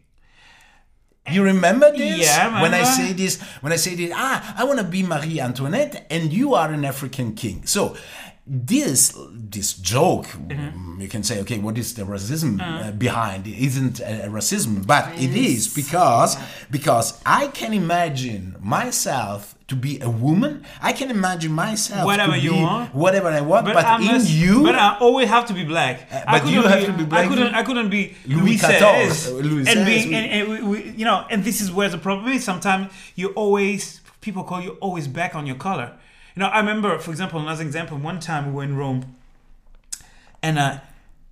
Speaker 2: You remember this?
Speaker 3: Yeah, I
Speaker 2: when I
Speaker 3: remember.
Speaker 2: say this, when I say this, ah, I want to be Marie Antoinette, and you are an African king. So this this joke, you can say, okay, what is the racism uh, behind? It isn't a, a racism, but it is because because I can imagine myself to be a woman. I can imagine myself
Speaker 3: Whatever
Speaker 2: to
Speaker 3: you
Speaker 2: be
Speaker 3: want.
Speaker 2: whatever I want, but,
Speaker 3: I
Speaker 2: in
Speaker 3: must-
Speaker 2: you.
Speaker 3: But I always have to be black. I
Speaker 2: but you
Speaker 3: couldn't
Speaker 2: have to be black.
Speaker 3: I couldn't. I couldn't be
Speaker 2: Louis
Speaker 3: Louis
Speaker 2: fourteen,
Speaker 3: seize.
Speaker 2: Louis
Speaker 3: and being
Speaker 2: seize,
Speaker 3: and, and we, we, you know, and this is where the problem is. Sometimes you always people call you always back on your color. You know, I remember, for example, another example. One time we were in Rome, and uh,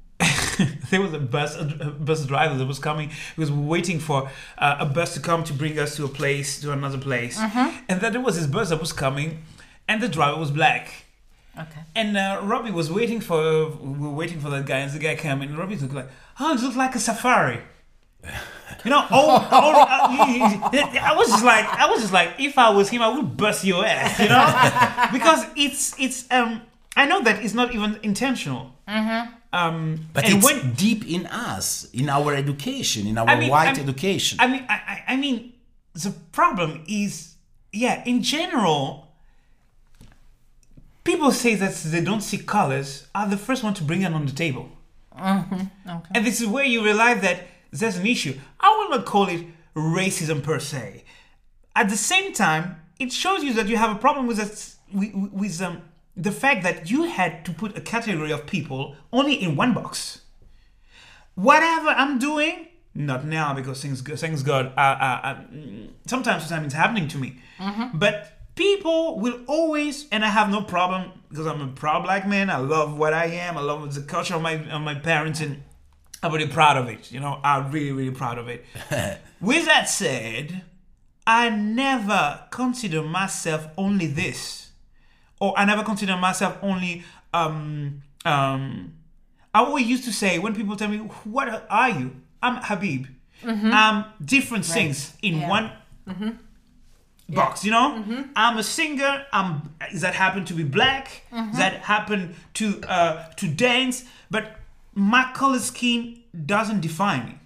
Speaker 3: there was a bus a bus driver that was coming. He was waiting for uh, a bus to come to bring us to a place, to another place, and then there was this bus that was coming, and the driver was black.
Speaker 1: Okay.
Speaker 3: And uh, Robbie was waiting for we were waiting for that guy, and the guy came in, and Robbie looked like, oh, it looks like a safari. You know, oh, oh uh, I was just like, I was just like, if I was him, I would bust your ass, you know, because it's it's um, I know that it's not even intentional. Mm-hmm. Um,
Speaker 2: But
Speaker 3: and
Speaker 2: it's
Speaker 3: when,
Speaker 2: deep in us, in our education, in our
Speaker 3: I mean,
Speaker 2: white
Speaker 3: I-
Speaker 2: education.
Speaker 3: I mean, I, I I mean, the problem is, yeah, in general, people say that they don't see colors are the first one to bring it on the table.
Speaker 1: Okay.
Speaker 3: And this is where you realize that there's an issue. I will not call it racism per se. At the same time, it shows you that you have a problem with that, with, with um, the fact that you had to put a category of people only in one box. Whatever I'm doing, not now because things, thanks God, uh, uh, uh, sometimes, sometimes it's happening to me. But people will always, and I have no problem because I'm a proud black man. I love what I am. I love the culture of my of my parents, and I'm really proud of it. You know, I'm really, really proud of it. With that said, I never consider myself only this, or I never consider myself only. Um, um, I always used to say when people tell me, "What are you?" I'm Habib. I'm different things in
Speaker 1: Yeah.
Speaker 3: one box. You know, I'm a singer. I'm that happen to be black. That happen to uh, to dance, but my color scheme doesn't define me.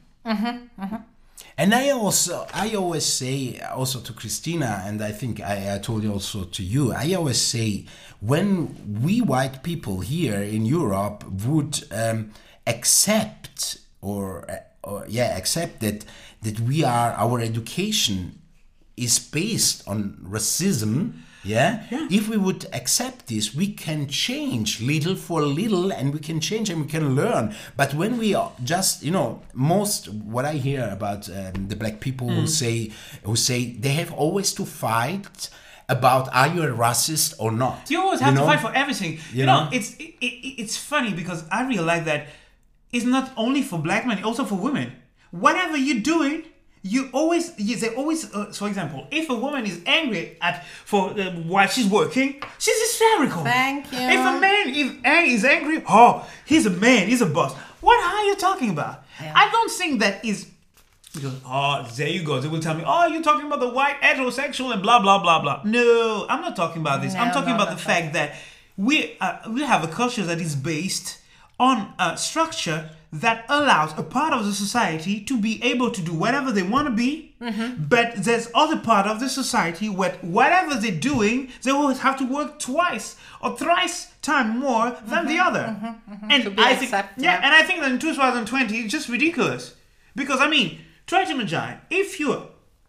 Speaker 2: And I also, I always say also to Christina, and I think I, I told you also to you, I always say when we white people here in Europe would um, accept or, or yeah, accept that, that we are, our education is based on racism, Yeah?
Speaker 3: Yeah.
Speaker 2: If we would accept this, we can change little for little, and we can change and we can learn. But when we are just, you know, most what I hear about um, the black people who say who say they have always to fight about are you a racist or not.
Speaker 3: You always have
Speaker 2: know?
Speaker 3: to fight for everything. You,
Speaker 2: You
Speaker 3: know,
Speaker 2: know?
Speaker 3: it's it, it, it's funny because I realize that it's not only for black men, also for women. Whatever you're doing, you always you, they always. Uh, for example, if a woman is angry at for uh, while she's working, she's hysterical.
Speaker 1: Thank you.
Speaker 3: If a man is, is angry, oh, he's a man, he's a boss. What are you talking about?
Speaker 1: Yeah.
Speaker 3: I don't think that is. Because, oh, there you go. They will tell me, oh, you're talking about the white heterosexual and blah, blah, blah, blah. No, I'm not talking about this.
Speaker 1: No,
Speaker 3: I'm talking
Speaker 1: no,
Speaker 3: about
Speaker 1: not
Speaker 3: the
Speaker 1: that.
Speaker 3: fact that we uh, we have a culture that is based on a structure that allows a part of the society to be able to do whatever they want to be,
Speaker 1: Mm-hmm.
Speaker 3: but there's other part of the society where whatever they're doing, they always have to work twice or thrice time more than the other. And
Speaker 1: To be
Speaker 3: I think,
Speaker 1: accepted,
Speaker 3: yeah,
Speaker 1: yeah.
Speaker 3: and I think that in two thousand twenty, it's just ridiculous. Because, I mean, try to imagine, if you,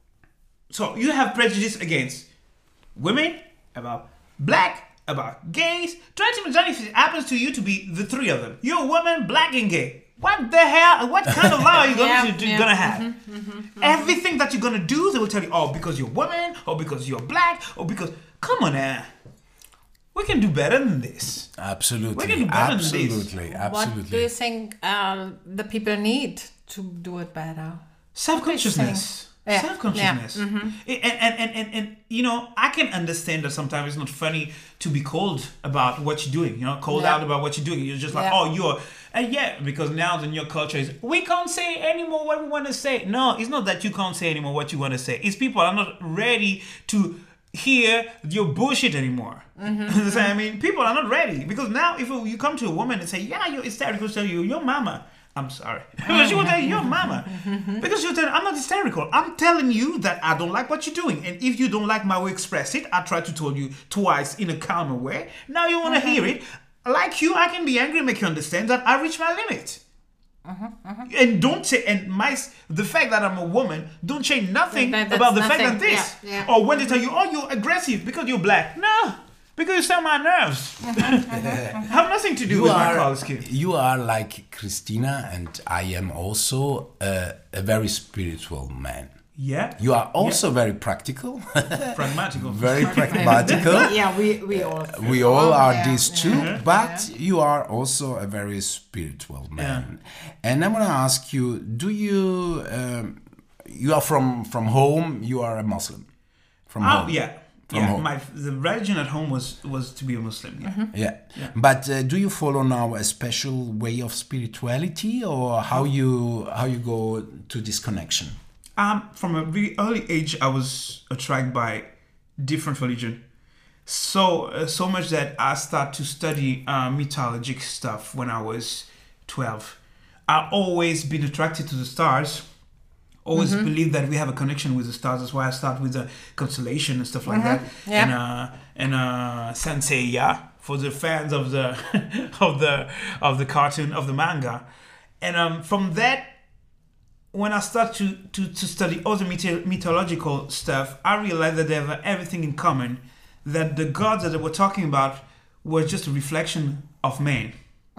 Speaker 3: so you have prejudice against women, about black, about gays, try to imagine if it happens to you to be the three of them. You're a woman, black and gay. What the hell, what kind of law are you going
Speaker 1: Yeah,
Speaker 3: to do,
Speaker 1: yeah.
Speaker 3: gonna have? Everything that you're gonna do, they will tell you, oh, because you're a woman, or because you're black, or because, come on now. We can do better than this.
Speaker 2: Absolutely.
Speaker 3: We can do better than this.
Speaker 2: Absolutely.
Speaker 1: What do
Speaker 2: Absolutely.
Speaker 1: you think um, the people need to do it better?
Speaker 3: Self-consciousness.
Speaker 1: Yeah,
Speaker 3: Self-consciousness.
Speaker 1: yeah, mhm.
Speaker 3: And, and, and, and, and, you know, I can understand that sometimes it's not funny to be called about what you're doing, you know, called
Speaker 1: Yeah.
Speaker 3: out about what you're doing. You're just like,
Speaker 1: Yeah.
Speaker 3: oh, you're, and yeah, because now the new culture is, we can't say anymore what we want to say. No, it's not that you can't say anymore what you want to say. It's people are not ready to hear your bullshit anymore.
Speaker 1: Mm-hmm.
Speaker 3: So, I mean, people are not ready. Because now if you come to a woman and say, yeah, you're hysterical, tell you, your mama. I'm sorry. But she will tell you, your mama. Because she'll tell you, I'm not hysterical. I'm telling you that I don't like what you're doing. And if you don't like my way to express it, I tried to tell you twice in a calmer way. Now you want to hear it. Like you, I can be angry and make you understand that I reach my limit. And don't say, and my, the fact that I'm a woman, don't change nothing
Speaker 1: That- that's
Speaker 3: about the fact
Speaker 1: nothing.
Speaker 3: that this.
Speaker 1: Yeah, yeah.
Speaker 3: Or when they tell you, oh, you're aggressive because you're black. No, because you sell my nerves. Have nothing to do
Speaker 2: You
Speaker 3: with my
Speaker 2: are,
Speaker 3: color scheme.
Speaker 2: you are like Christina, and I am also a, a very spiritual man.
Speaker 3: Yeah.
Speaker 2: You are also very practical,
Speaker 3: Pragmatical.
Speaker 2: very pragmatical.
Speaker 1: Yeah, we, we all.
Speaker 2: We all are
Speaker 1: Yeah,
Speaker 2: these too,
Speaker 1: yeah.
Speaker 2: but you are also a very spiritual man. And I want to ask you: do you um, you are from from home? You are a Muslim from
Speaker 3: Oh,
Speaker 2: home.
Speaker 3: yeah.
Speaker 2: From
Speaker 3: yeah,
Speaker 2: home.
Speaker 3: my the religion at home was was to be a Muslim. Yeah.
Speaker 2: Yeah. But uh, do you follow now a special way of spirituality, or how you how you go to this connection?
Speaker 3: Um, from a really early age, I was attracted by different religion. So uh, so much that I started to study uh, mythologic stuff when I was twelve. I've always been attracted to the stars. Always believed that we have a connection with the stars. That's why I start with the constellation and stuff like that.
Speaker 1: Yeah.
Speaker 3: And uh, and uh, Sanseiya for the fans of the of the of the cartoon of the manga. And um, from that, when I start to, to, to study other myth- mythological stuff, I realized that they have everything in common. That the gods that they were talking about were just a reflection of man.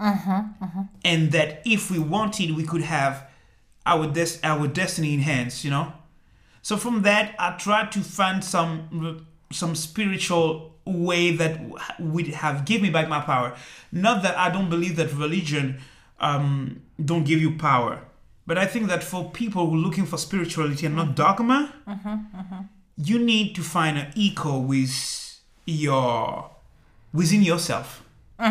Speaker 3: And that if we wanted, we could have our des- our destiny in hands, you know? So from that, I tried to find some some spiritual way that would have give me back my power. Not that I don't believe that religion um, don't give you power. But I think that for people who are looking for spirituality and not dogma, you need to find an echo with your within yourself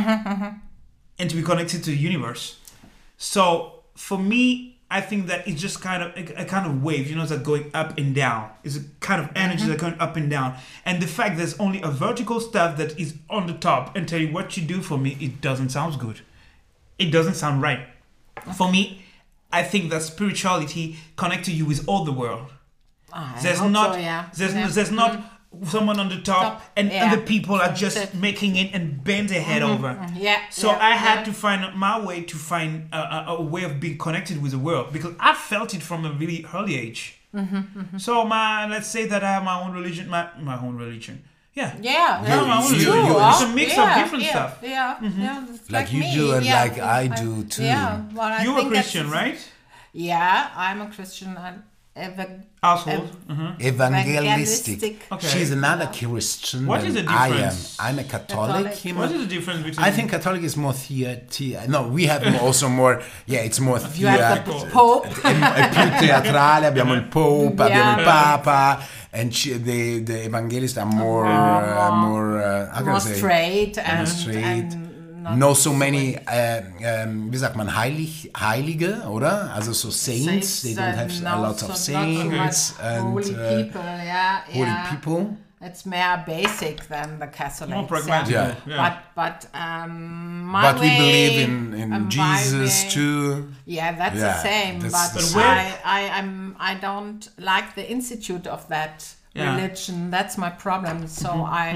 Speaker 3: and to be connected to the universe. So for me, I think that it's just kind of a, a kind of wave, you know, that's going up and down. It's a kind of energy that's going up and down. And the fact there's only a vertical stuff that is on the top and tell you what you do for me, it doesn't sound good. It doesn't sound right. For me, I think that spirituality connects you with all the world.
Speaker 1: I
Speaker 3: There's
Speaker 1: hope
Speaker 3: not,
Speaker 1: so, yeah.
Speaker 3: there's,
Speaker 1: Yeah.
Speaker 3: there's not someone on the top,
Speaker 1: Top,
Speaker 3: and
Speaker 1: yeah.
Speaker 3: other people are just
Speaker 1: That's it.
Speaker 3: making it and bend their head over.
Speaker 1: Yeah.
Speaker 3: So
Speaker 1: yeah,
Speaker 3: I had
Speaker 1: yeah.
Speaker 3: to find my way to find a, a, a way of being connected with the world because I felt it from a really early age. So my let's say that I have my own religion, my my own religion. Yeah.
Speaker 1: Yeah,
Speaker 2: You-
Speaker 1: yeah,
Speaker 2: you-
Speaker 1: it's
Speaker 2: you-
Speaker 1: true,
Speaker 2: you-
Speaker 1: huh?
Speaker 3: It's a mix of
Speaker 1: yeah,
Speaker 3: different
Speaker 1: yeah,
Speaker 3: stuff.
Speaker 1: Yeah, yeah, it's
Speaker 2: Like you
Speaker 1: me,
Speaker 2: do and
Speaker 1: yeah.
Speaker 2: like I do too.
Speaker 1: Yeah, well, I
Speaker 3: You're a
Speaker 1: think that's-
Speaker 3: Christian, right?
Speaker 1: Yeah, I'm a Christian. I'm ev-
Speaker 3: Household.
Speaker 1: ev-
Speaker 3: Uh-huh.
Speaker 2: Evangelistic.
Speaker 1: Evangelistic.
Speaker 3: Okay.
Speaker 2: She's another Christian.
Speaker 3: What
Speaker 2: than
Speaker 3: is the
Speaker 2: I am.
Speaker 3: difference?
Speaker 2: I'm a Catholic.
Speaker 1: Catholic.
Speaker 2: him-
Speaker 3: What is the difference between?
Speaker 2: I think Catholic is more theater. No, we have also more. Yeah, it's more
Speaker 1: You have the
Speaker 2: theater.
Speaker 1: Pope.
Speaker 2: È più teatrale. Abbiamo il Pope,
Speaker 1: Yeah.
Speaker 2: abbiamo il Papa, and she, the the evangelists are more uh, more. Uh, how can I
Speaker 1: More
Speaker 2: say?
Speaker 1: straight and,
Speaker 2: straight.
Speaker 1: and not
Speaker 2: No so many, äh, ähm, wie sagt man, Heilig, Heilige, oder? Also so saints, they don't have a lot of saints and
Speaker 1: holy
Speaker 2: uh,
Speaker 1: people, yeah,
Speaker 2: holy
Speaker 1: yeah.
Speaker 2: people.
Speaker 1: It's more basic than the Catholics.
Speaker 3: More pragmatic.
Speaker 1: Yeah.
Speaker 2: Yeah.
Speaker 3: Yeah.
Speaker 1: But but um, my
Speaker 2: But we
Speaker 1: way,
Speaker 2: believe in, in
Speaker 1: um, my
Speaker 2: Jesus
Speaker 1: way-
Speaker 2: too.
Speaker 1: Yeah, that's
Speaker 2: Yeah,
Speaker 1: the same.
Speaker 2: that's
Speaker 1: But
Speaker 2: the
Speaker 3: same.
Speaker 1: I, I, I'm, I don't like the institute of that
Speaker 3: Yeah.
Speaker 1: religion. That's my problem. So I,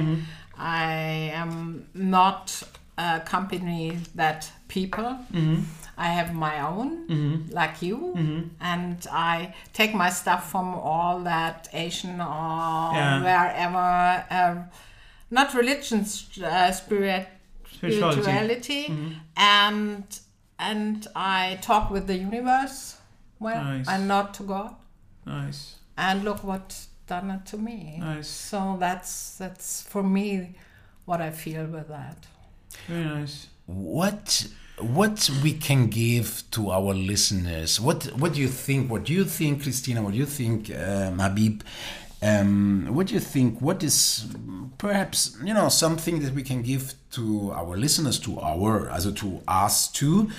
Speaker 1: I am not a company that people. I have my own, like you, and I take my stuff from all that Asian or
Speaker 3: Yeah.
Speaker 1: wherever. Uh, not religion, uh, spirit,
Speaker 3: Spirituality.
Speaker 1: spirituality, and and I talk with the universe. Well,
Speaker 3: Nice.
Speaker 1: and not to God.
Speaker 3: Nice.
Speaker 1: And look what done it to me.
Speaker 3: Nice.
Speaker 1: So that's that's for me what I feel with that.
Speaker 3: Very nice.
Speaker 2: What what we can give to our listeners? What what do you think? What do you think, Christina? What do you think, um, Habib? Um, what do you think? What is perhaps you know something that we can give to our listeners, to our, also to us too?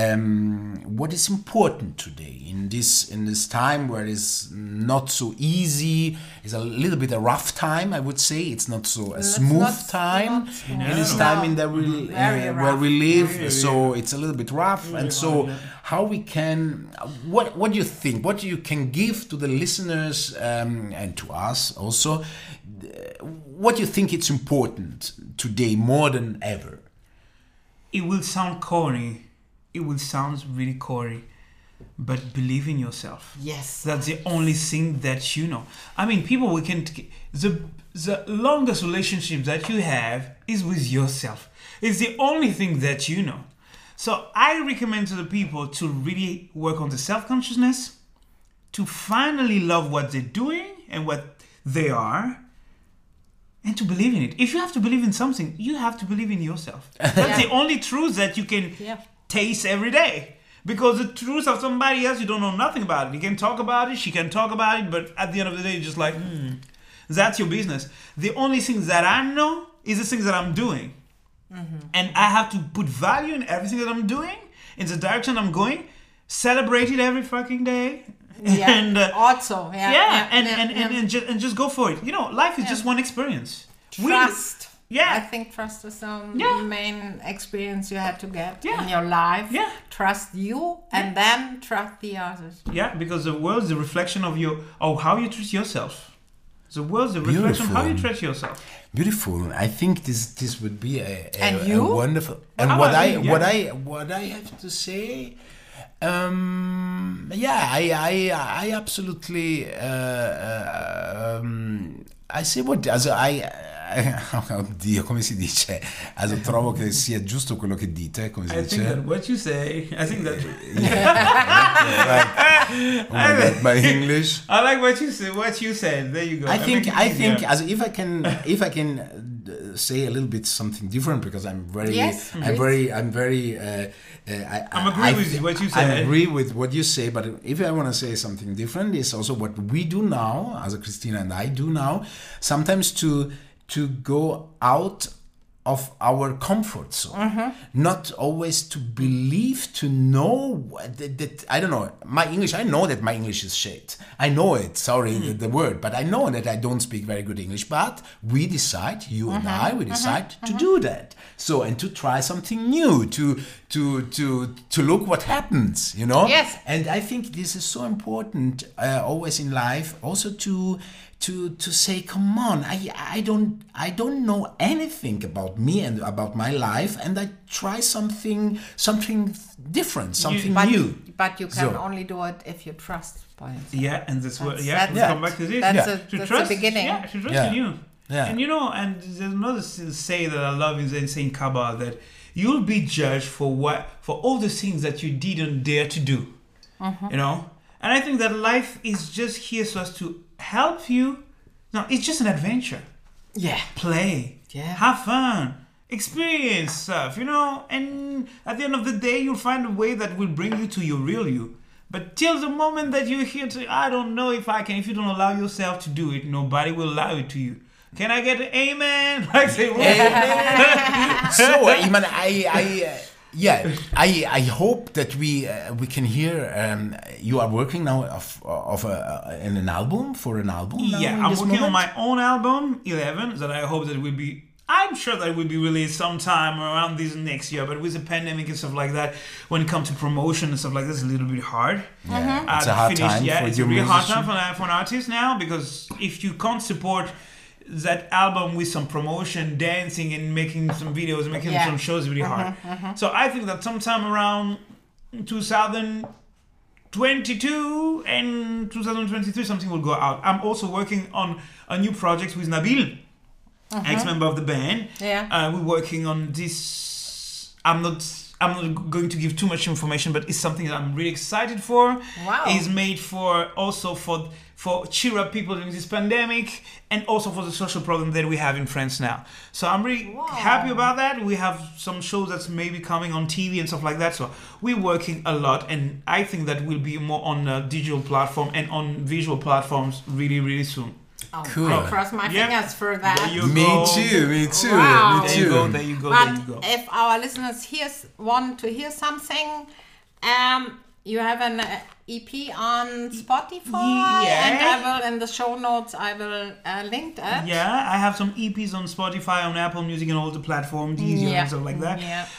Speaker 2: Um, what is important today in this in this time where it's not so easy? It's a little bit a rough time, I would say. It's not so a
Speaker 1: It's
Speaker 2: smooth
Speaker 1: not-
Speaker 2: time
Speaker 1: not smooth.
Speaker 2: in this
Speaker 1: No.
Speaker 2: time in that we
Speaker 1: Very
Speaker 2: uh, where
Speaker 1: rough.
Speaker 2: we live. So it's a little bit rough, and so how we can what what do you think what you can give to the listeners um, and to us also, uh, what do you think it's important today more than ever?
Speaker 3: It will sound corny. It will sound really corny, but believe in yourself.
Speaker 1: Yes.
Speaker 3: That's the only thing that you know. I mean, people we can the the longest relationship that you have is with yourself. It's the only thing that you know. So I recommend to the people to really work on the self-consciousness, to finally love what they're doing and what they are, and to believe in it. If you have to believe in something, you have to believe in yourself. That's
Speaker 1: Yeah.
Speaker 3: the only truth that you can
Speaker 1: Yeah.
Speaker 3: taste every day. Because the truth of somebody else, you don't know nothing about it. You can talk about it, she can talk about it, but at the end of the day, you're just like, hmm, that's your business. The only thing that I know is the things that I'm doing. And I have to put value in everything that I'm doing, in the direction I'm going, celebrate it every fucking day.
Speaker 1: Yeah.
Speaker 3: and uh,
Speaker 1: also, yeah.
Speaker 3: yeah, and,
Speaker 1: yeah,
Speaker 3: and, and,
Speaker 1: yeah.
Speaker 3: and, just, and just go for it. You know, life is just one experience. We-
Speaker 1: Trust.
Speaker 3: Yeah.
Speaker 1: I think trust is the
Speaker 3: Yeah.
Speaker 1: main experience you had to get
Speaker 3: Yeah.
Speaker 1: in your life.
Speaker 3: Yeah.
Speaker 1: Trust you and then trust the others.
Speaker 3: Yeah, because the world is a reflection of your of how you treat yourself. The world is a reflection of how you
Speaker 2: Beautiful.
Speaker 3: treat yourself.
Speaker 2: Beautiful. I think this this would be a, a,
Speaker 1: And
Speaker 2: a
Speaker 1: you?
Speaker 2: wonderful. And
Speaker 3: How
Speaker 2: what
Speaker 3: about
Speaker 2: I
Speaker 3: you?
Speaker 2: what
Speaker 3: Yeah.
Speaker 2: I what I have to say, um, yeah, I I I absolutely. Uh, uh, um, I say what also I. Oddio, come si dice? Also, trovo che sia giusto quello che dite, come si
Speaker 3: I
Speaker 2: dice?
Speaker 3: think that what you say, I think that
Speaker 2: Oh my God, my English.
Speaker 3: I like what you said. What you said. There you go.
Speaker 2: I think
Speaker 3: make it
Speaker 2: I think
Speaker 3: easier.
Speaker 2: as if I can if I can uh, say a little bit something different because I'm very
Speaker 1: Yes,
Speaker 2: I'm
Speaker 1: please.
Speaker 2: very I'm very uh, uh, I,
Speaker 3: I'm
Speaker 2: I-
Speaker 3: agree
Speaker 2: I
Speaker 3: with
Speaker 2: th-
Speaker 3: what you
Speaker 2: I
Speaker 3: said.
Speaker 2: agree with what you say, but if I want to say something different, is also what we do now, as Christina and I do now, sometimes to to go out of our comfort zone, not always to believe, to know that, that I don't know my English. I know that my English is shit. I know it. Sorry, the, the word, but I know that I don't speak very good English. But we decide, you and I, we decide to do that. So and to try something new, to to to to look what happens. You know.
Speaker 1: Yes.
Speaker 2: And I think this is so important uh, always in life, also to. To, to say, come on, I I don't I don't know anything about me and about my life, and I try something something different, something
Speaker 1: But,
Speaker 2: new.
Speaker 1: but you can
Speaker 2: So.
Speaker 1: only do it if you trust by yourself.
Speaker 3: Yeah, and that's what.
Speaker 1: That's-
Speaker 3: Yeah,
Speaker 1: that's-
Speaker 3: we come back to this.
Speaker 1: That's,
Speaker 2: Yeah.
Speaker 1: a,
Speaker 3: To
Speaker 1: that's
Speaker 3: trust,
Speaker 1: the beginning.
Speaker 3: Yeah, to trust
Speaker 2: Yeah.
Speaker 3: in you.
Speaker 2: Yeah.
Speaker 3: And you know, and there's another say that I love in Saint Kabbalah, that you'll be judged for what for all the things that you didn't dare to do.
Speaker 1: Mm-hmm.
Speaker 3: You know? And I think that life is just here so as to help you. No, it's just an adventure.
Speaker 1: Yeah.
Speaker 3: Play.
Speaker 1: Yeah.
Speaker 3: Have fun. Experience stuff, you know? And at the end of the day, you'll find a way that will bring you to your real you. But till the moment that you're here to, I don't know if I can, if you don't allow yourself to do it, nobody will allow it to you. Can I get an amen? Like say,
Speaker 2: amen. So, I mean, I, I, uh, yeah, I, I hope that we, uh, we can hear. Um, you are working now of, of a, uh, in an album for an album. Now
Speaker 3: yeah,
Speaker 2: in
Speaker 3: I'm
Speaker 2: this
Speaker 3: working on
Speaker 2: moment?
Speaker 3: my own album, eleven, that I hope that will be. I'm sure that it will be released sometime around this next year, but with the pandemic and stuff like that, when it comes to promotion and stuff like that, it's a little bit hard.
Speaker 2: Yeah,
Speaker 3: Uh,
Speaker 2: it's a hard
Speaker 3: finish,
Speaker 2: time
Speaker 3: yeah,
Speaker 2: for
Speaker 3: it's
Speaker 2: your
Speaker 3: a real hard
Speaker 2: musician.
Speaker 3: time for, for an artist now, because if you can't support that album with some promotion, dancing and making some videos and making
Speaker 1: Yeah.
Speaker 3: some shows, it's really hard. So I think that sometime around two thousand twenty-two and two thousand twenty-three, something will go out. I'm also working on a new project with Nabil, ex-member of the band.
Speaker 1: Yeah.
Speaker 3: Uh, we're working on this. I'm not. I'm not going to give too much information, but it's something that I'm really excited for.
Speaker 1: Wow.
Speaker 3: It's made for also for for cheer up people during this pandemic, and also for the social problem that we have in France now. So I'm really
Speaker 1: Wow.
Speaker 3: happy about that. We have some shows that's maybe coming on T V and stuff like that. So we're working a lot, and I think that will be more on a digital platform and on visual platforms really, really soon.
Speaker 1: Oh,
Speaker 2: Cool.
Speaker 1: I cross my
Speaker 3: Yep.
Speaker 1: fingers for that.
Speaker 3: There you
Speaker 2: Me
Speaker 3: go.
Speaker 2: too, me too,
Speaker 1: Wow.
Speaker 2: me
Speaker 3: There you go.
Speaker 2: too.
Speaker 3: There you go.
Speaker 1: But
Speaker 3: There you go.
Speaker 1: if our listeners hears, want to hear something, um, you have an uh, E P on Spotify,
Speaker 3: Yeah.
Speaker 1: and I will in the show notes I will uh, link it.
Speaker 3: Yeah, I have some E Ps on Spotify, on Apple Music, and all the platforms, Deezer
Speaker 1: Yeah.
Speaker 3: and stuff like that.
Speaker 1: Yeah.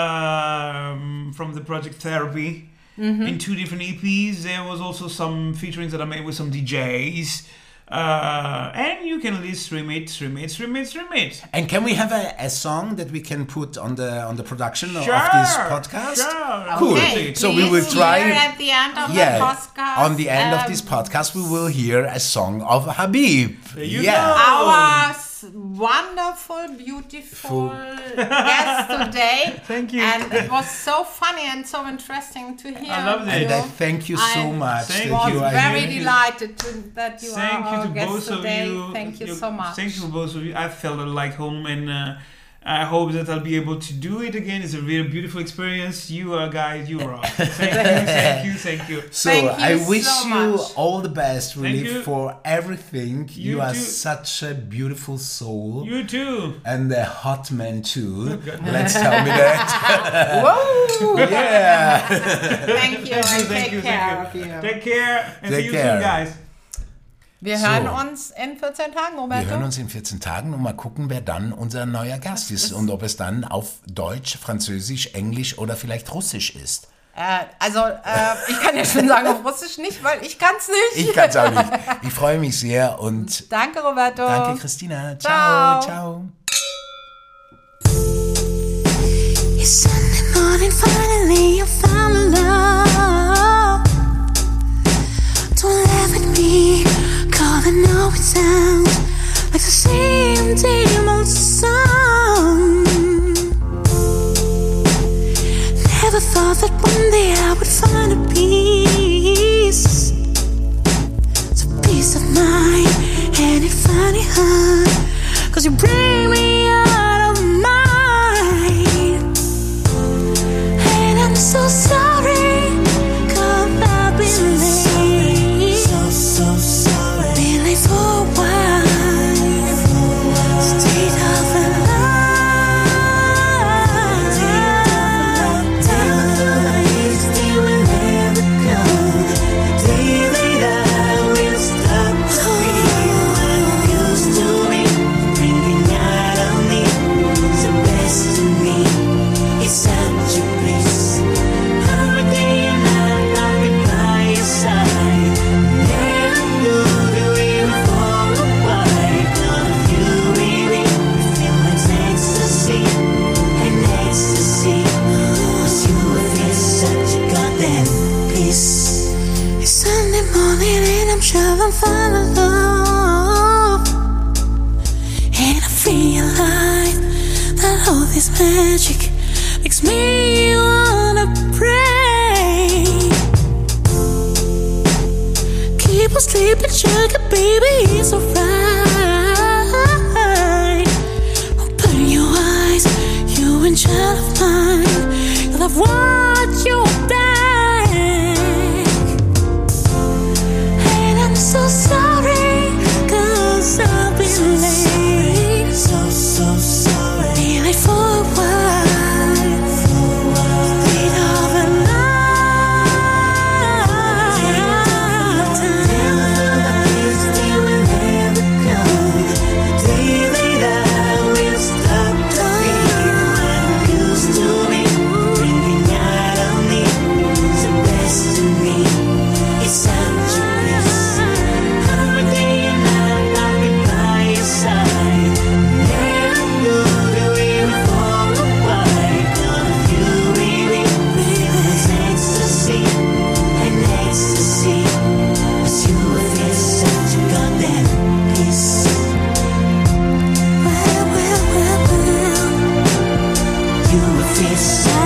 Speaker 3: Um, from the project Therapy,
Speaker 1: Mm-hmm.
Speaker 3: in two different E Ps. There was also some featurings that I made with some D Js. Uh, and you can list stream it, stream it, stream it, stream it.
Speaker 2: And can we have a, a song that we can put on the on the production
Speaker 3: Sure,
Speaker 2: of this podcast?
Speaker 3: Sure.
Speaker 2: Cool.
Speaker 1: Okay,
Speaker 2: So we will
Speaker 1: please
Speaker 2: try-
Speaker 1: hear at the end of
Speaker 2: Yeah,
Speaker 1: the podcast.
Speaker 2: on the end of
Speaker 1: um,
Speaker 2: this podcast, we will hear a song of Habib.
Speaker 3: There you
Speaker 2: yeah.
Speaker 3: go.
Speaker 1: Our s- wonderful, beautiful guest today.
Speaker 3: Thank you.
Speaker 1: And it was so funny and so interesting to hear.
Speaker 3: I loved it.
Speaker 2: And I
Speaker 1: you.
Speaker 2: thank you so
Speaker 1: I
Speaker 2: much
Speaker 3: Thank
Speaker 2: that
Speaker 1: was
Speaker 2: you are
Speaker 1: very
Speaker 2: here.
Speaker 1: delighted to, that you
Speaker 3: Thank
Speaker 1: are
Speaker 3: you
Speaker 1: our
Speaker 3: to
Speaker 1: guest
Speaker 3: both
Speaker 1: today.
Speaker 3: of you.
Speaker 1: Thank you
Speaker 3: You-
Speaker 1: so much.
Speaker 3: Thank you to both of you. I felt like home, and uh, I hope that I'll be able to do it again. It's a really beautiful experience. You are guys, you rock. Thank you, thank you, thank you.
Speaker 2: So
Speaker 1: Thank
Speaker 2: I
Speaker 1: you
Speaker 2: wish
Speaker 1: so
Speaker 2: you
Speaker 1: much.
Speaker 2: all the best, really,
Speaker 3: you.
Speaker 2: for everything. You,
Speaker 3: You
Speaker 2: are
Speaker 3: too.
Speaker 2: such a beautiful soul.
Speaker 3: You too.
Speaker 2: And a hot man too. Let's tell me that.
Speaker 1: Whoa!
Speaker 2: Yeah.
Speaker 1: Thank you and
Speaker 3: Thank
Speaker 1: take
Speaker 3: you,
Speaker 1: care
Speaker 3: thank you.
Speaker 1: of you.
Speaker 3: Take care and
Speaker 2: Take
Speaker 3: see you
Speaker 2: care.
Speaker 3: soon, guys.
Speaker 1: Wir
Speaker 2: So.
Speaker 1: hören uns in vierzehn Tagen,
Speaker 2: Wir
Speaker 1: Roberto.
Speaker 2: hören uns in vierzehn Tagen und mal gucken, wer dann unser neuer Gast ist und ob es dann auf Deutsch, Französisch, Englisch oder vielleicht Russisch ist.
Speaker 1: Äh, also, äh, ich kann ja schon sagen auf Russisch nicht, weil ich kann es nicht.
Speaker 2: Ich kann es auch nicht. Ich freue mich sehr und
Speaker 1: Danke, Roberto.
Speaker 2: danke, Christina. Ciao,
Speaker 1: Ciao.
Speaker 2: ciao.
Speaker 4: It's Sunday morning, finally I found love. Don't laugh at me, cause I know it sounds like the same damn old song. Never thought that one day I would find a peace. It's a peace of mind, and it finally hurt, cause you bring me out of mine. And I'm so sorry, cause I've been late. So, so sorry. Been late for a while. Stayed up and I'm sure I'll find a love. this magic makes me wanna pray. Keep on sleeping, sugar baby, it's alright. Open your eyes, you and child of mine. You'll have what you back. And I'm so sorry, cause I've been late. So, so sorry. Be late for a while. Lead of a lifetime. We will never come. The day that I will stop to be what I used to be. Bringing out of me the best in me. It's such a bliss. Every day and night I'll be by your side. Never knew that we would fall apart. All of you, baby, it's ecstasy and ecstasy. 'Cause you feel such a goddamn peace. Well, well, well, well. You feel so